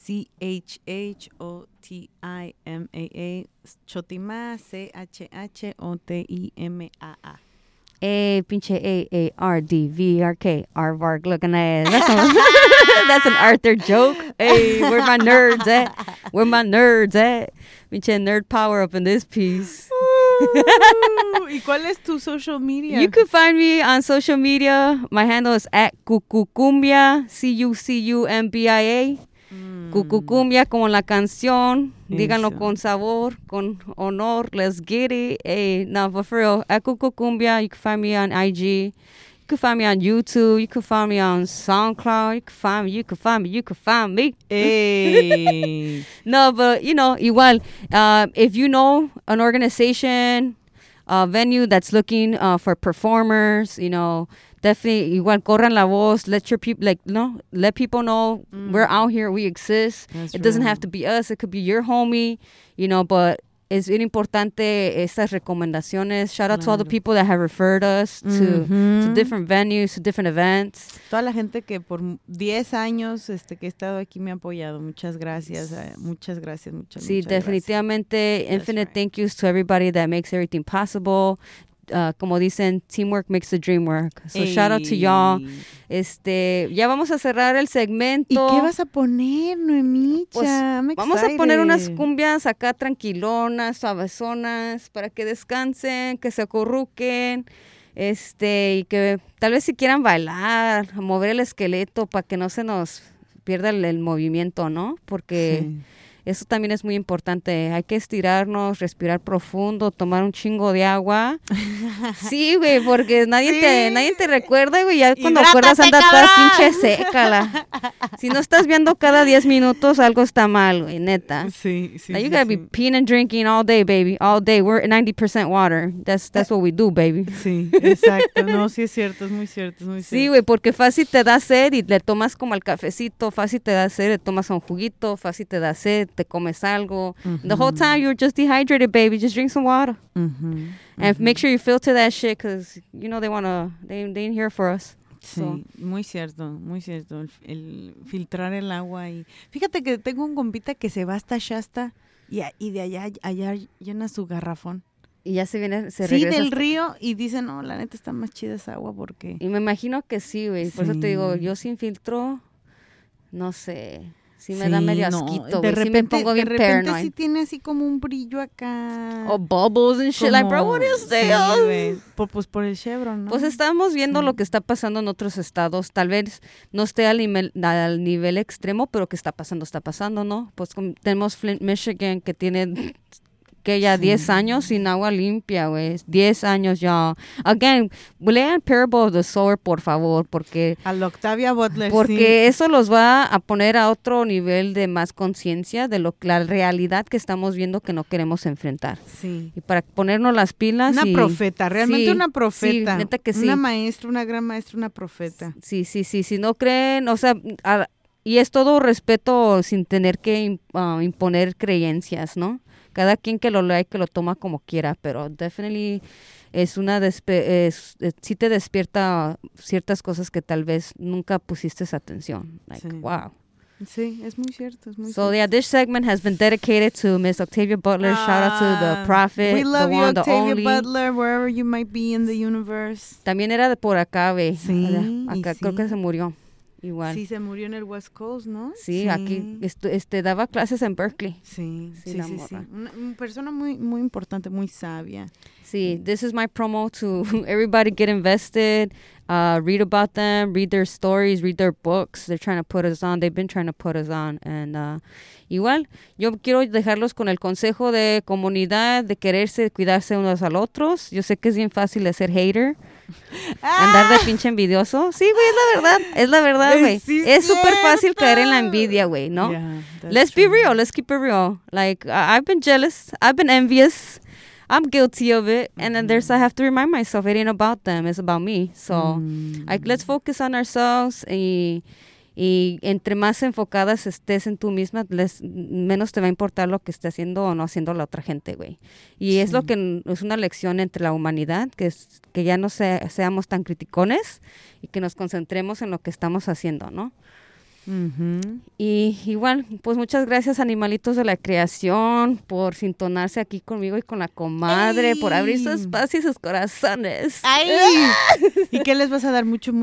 CHHOTIMAA, Chotima, CHHOTIMAA. Pinche AARDVRK, Aardvark, looking at that's an Arthur joke. Hey, where my nerds at? Where my nerds at? Pinche nerd power up in this piece. ¿Y cuál es tu social media? You can find me on social media. My handle is at Cucucumbia, CUCUMBIA. Cucucumbia como la canción. Díganlo Eso. con sabor, con honor. Let's get it. Hey, no, but for real, at Cucucumbia, you can find me on IG. You can find me on YouTube. You can find me on SoundCloud. You can find me. Hey. No, but, igual, if you know an organization, venue that's looking for performers, definitely, igual, corran la voz, let people know we're out here, we exist. That's It doesn't right. have to be us, it could be your homie, but es bien importante estas recomendaciones. Shout out to all the Claro. people that have referred us to different venues, to different events. Toda la gente que por 10 años que he estado aquí me ha apoyado. Muchas gracias. Muchas gracias. Sí, muchas definitivamente. Infinite thank yous to everybody that makes everything possible. Como dicen, teamwork makes the dream work. So shout out to y'all. Ya vamos a cerrar el segmento. ¿Y qué vas a poner, Noemicha? Pues, I'm vamos a poner unas excited. cumbias acá tranquilonas, suavezonas, para que descansen, que se acurruquen, y que tal vez si quieran bailar, mover el esqueleto para que no se nos pierda el movimiento, ¿no? Porque Eso también es muy importante. Hay que estirarnos, respirar profundo, tomar un chingo de agua. Sí, güey, porque nadie te recuerda, güey. Ya cuando acuerdas anda toda pinche seca. Si no estás viendo cada 10 minutos, algo está mal, güey, neta. Sí. Now you gotta be peeing and drinking all day, baby. All day. We're 90% water. That's what we do, baby. Sí, exacto. No, sí es cierto, es muy cierto. Sí, güey, porque fácil te da sed y le tomas como el cafecito, fácil te da sed, le tomas un juguito, fácil te da sed, te comes algo. The whole time you're just dehydrated, baby. Just drink some water. And make sure you filter that shit because, you know, they ain't here for us. Sí, So. muy cierto. El filtrar el agua. Y fíjate que tengo un compita que se va hasta Shasta y de allá llena su garrafón. Y ya se regresa. Del río y dice, no, la neta está más chida esa agua porque... Y me imagino que sí, güey. Por eso te digo, yo sin filtro, no sé, sí me da medio asquito, güey. Sí me pongo bien paranoid. Sí tiene así como un brillo acá. O bubbles and shit, like, bro, what is this? Sí, güey. Pues por el Chevron, ¿no? Pues estamos viendo lo que está pasando en otros estados. Tal vez no esté al nivel extremo, pero que está pasando, ¿no? Pues tenemos Flint, Michigan, que tiene... que ya 10 años sin agua limpia, güey. 10 años ya. Again, lean Parable of the Sower, por favor, porque... A la Octavia Butler, porque eso los va a poner a otro nivel de más conciencia de la realidad que estamos viendo que no queremos enfrentar. Sí. Y para ponernos las pilas. Una profeta, realmente una profeta. Sí, neta que sí. Una maestra, una gran maestra, una profeta. Sí. Si no creen, o sea... y es todo respeto sin tener que imponer creencias, ¿no? Cada quien que lo lea y que lo toma como quiera, pero definitely es sí te despierta ciertas cosas que tal vez nunca pusiste atención. Like, wow. Sí, es muy cierto, So yeah, this segment has been dedicated to Miss Octavia Butler. Shout out to the prophet, we love the you, one, the Octavia only. Butler, wherever you might be in the universe. También era de por acá, ve. Sí, acá creo que se murió. Igual. Sí, se murió en el West Coast, ¿no? Sí, aquí daba clases en Berkeley. Sí. Una persona muy, muy importante, muy sabia. Sí, this is my promo to everybody get invested, read about them, read their stories, read their books. They're trying to put us on. They've been trying to put us on. And igual, yo quiero dejarlos con el consejo de comunidad, de quererse, de cuidarse unos al otros. Yo sé que es bien fácil de ser hater. Andar de pinche envidioso. Sí, güey, es la verdad, güey. Sí, es súper fácil caer en la envidia, güey, ¿no? Yeah, let's be real, let's keep it real. Like, I've been jealous, I've been envious, I'm guilty of it, and then I have to remind myself, it ain't about them, it's about me. So, let's focus on ourselves y entre más enfocadas estés en tú misma, menos te va a importar lo que esté haciendo o no haciendo la otra gente, güey. Y es lo que es una lección entre la humanidad, que ya no seamos tan criticones y que nos concentremos en lo que estamos haciendo, ¿no? Y igual, pues muchas gracias, animalitos de la creación, por sintonarse aquí conmigo y con la comadre, por abrir su espacio y sus corazones. ¡Ay! ¿Y qué les vas a dar? Mucho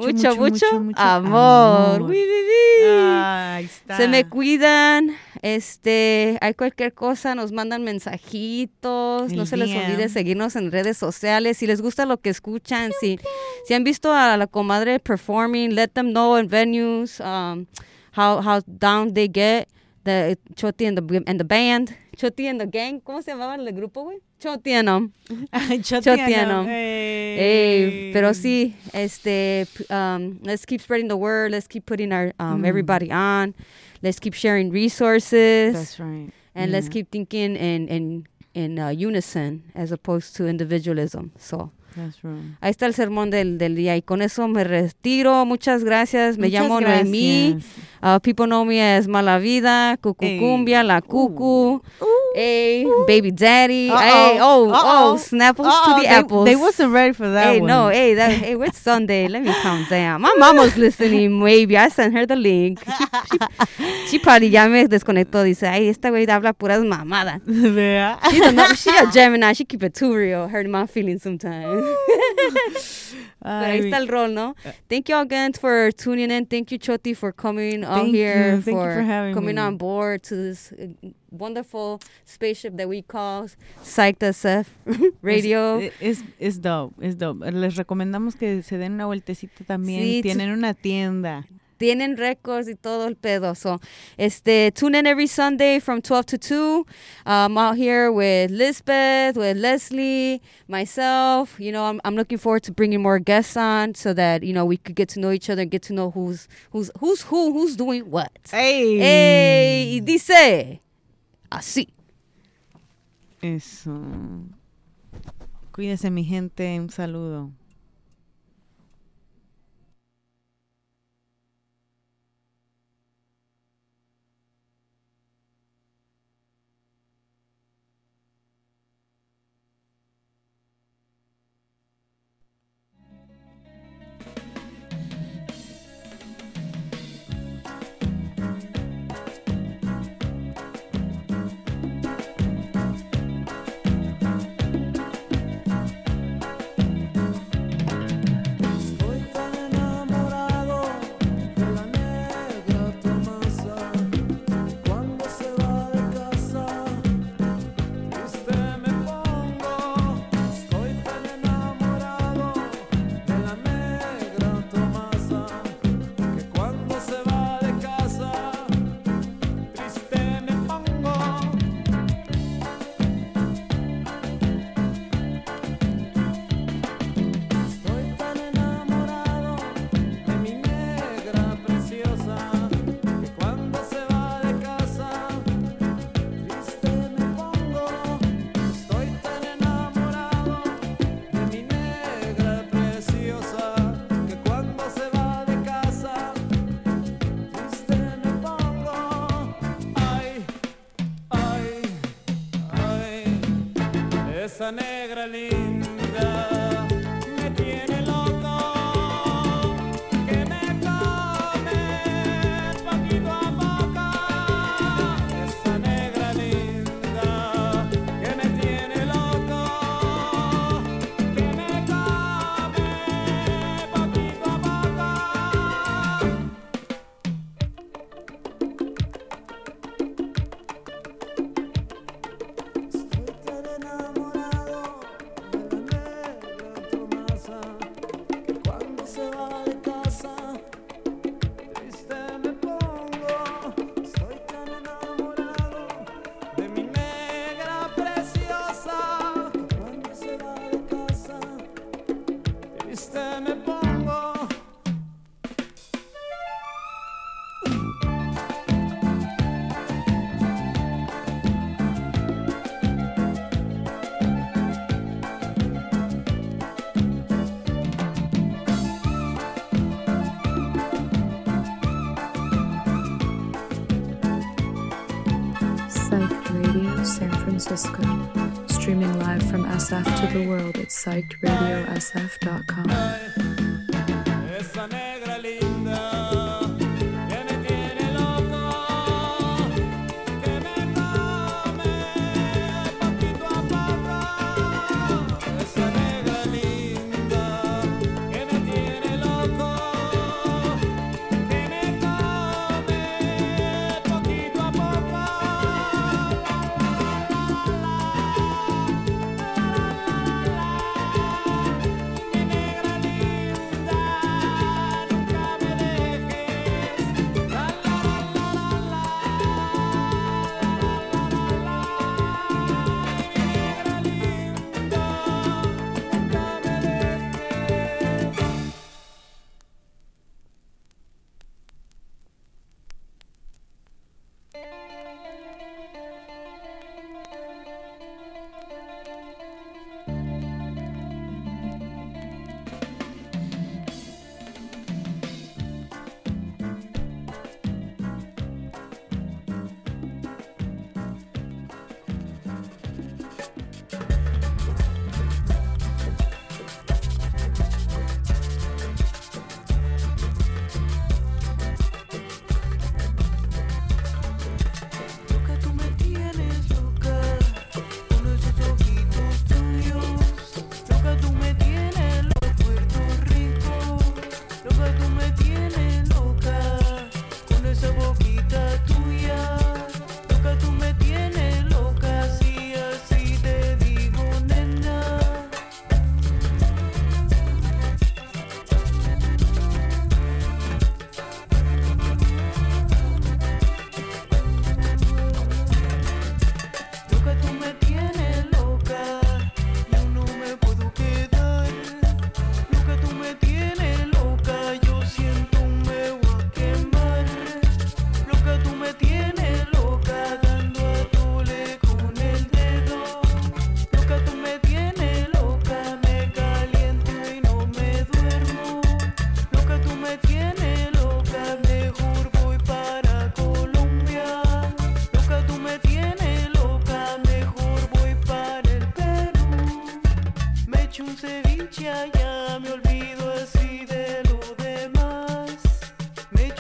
amor. Ahí está. Se me cuidan. Hay cualquier cosa, nos mandan mensajitos. No se les olvide seguirnos en redes sociales. Si les gusta lo que escuchan, si han visto a la comadre performing, let them know in venues how down they get. The Choti and the band. Choti and the gang. ¿Cómo se llamaba el grupo, güey? Choti and them. Choti and them. Pero sí, let's keep spreading the word. Let's keep putting our everybody on. Let's keep sharing resources. That's right. And let's keep thinking in unison as opposed to individualism. So. That's right. Ahí está el sermón del día y con eso me retiro. Muchas gracias. Me llamo Noemí. People know me as Mala Vida, Cucucumbia, La Cucu. Baby Daddy. Snapples to the apples. They wasn't ready for that one. It's Sunday. Let me calm down. My mom was listening, maybe. I sent her the link. She probably ya me desconectó. Dice, ay, esta güey habla puras mamadas. Vea. She's a Gemini. She keep it too real. Hurt my feelings sometimes. Pero ahí está el rol, ¿no? Thank you all again for tuning in. Thank you, Choti, for coming out here. Thank you for having coming me. on board to this wonderful spaceship that we call Psyched SF Radio. Es dope, es dope. Les recomendamos que se den una vueltecita también. Sí, tienen una tienda. tienen récords y todo el pedo. So, tune in every Sunday from 12 to 2. I'm out here with Lisbeth, with Leslie, myself. You know, I'm looking forward to bringing more guests on so that, you know, we could get to know each other and get to know who's doing what. Hey. Y dice así. Eso. Cuídense, mi gente. Un saludo. Esa negra linda me tiene loco, que me come poquito a poco. Esa negra linda que me tiene loco, que me come poquito a poco. Psyched Radio San Francisco. Streaming live from SF to the world at psychedradiosf.com. Esa negra linda que me tiene loco, que me come poquito a poco. Esa negra linda que me tiene loco, que me come poquito a poco. Mi negra linda.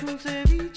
hecho un ceviche.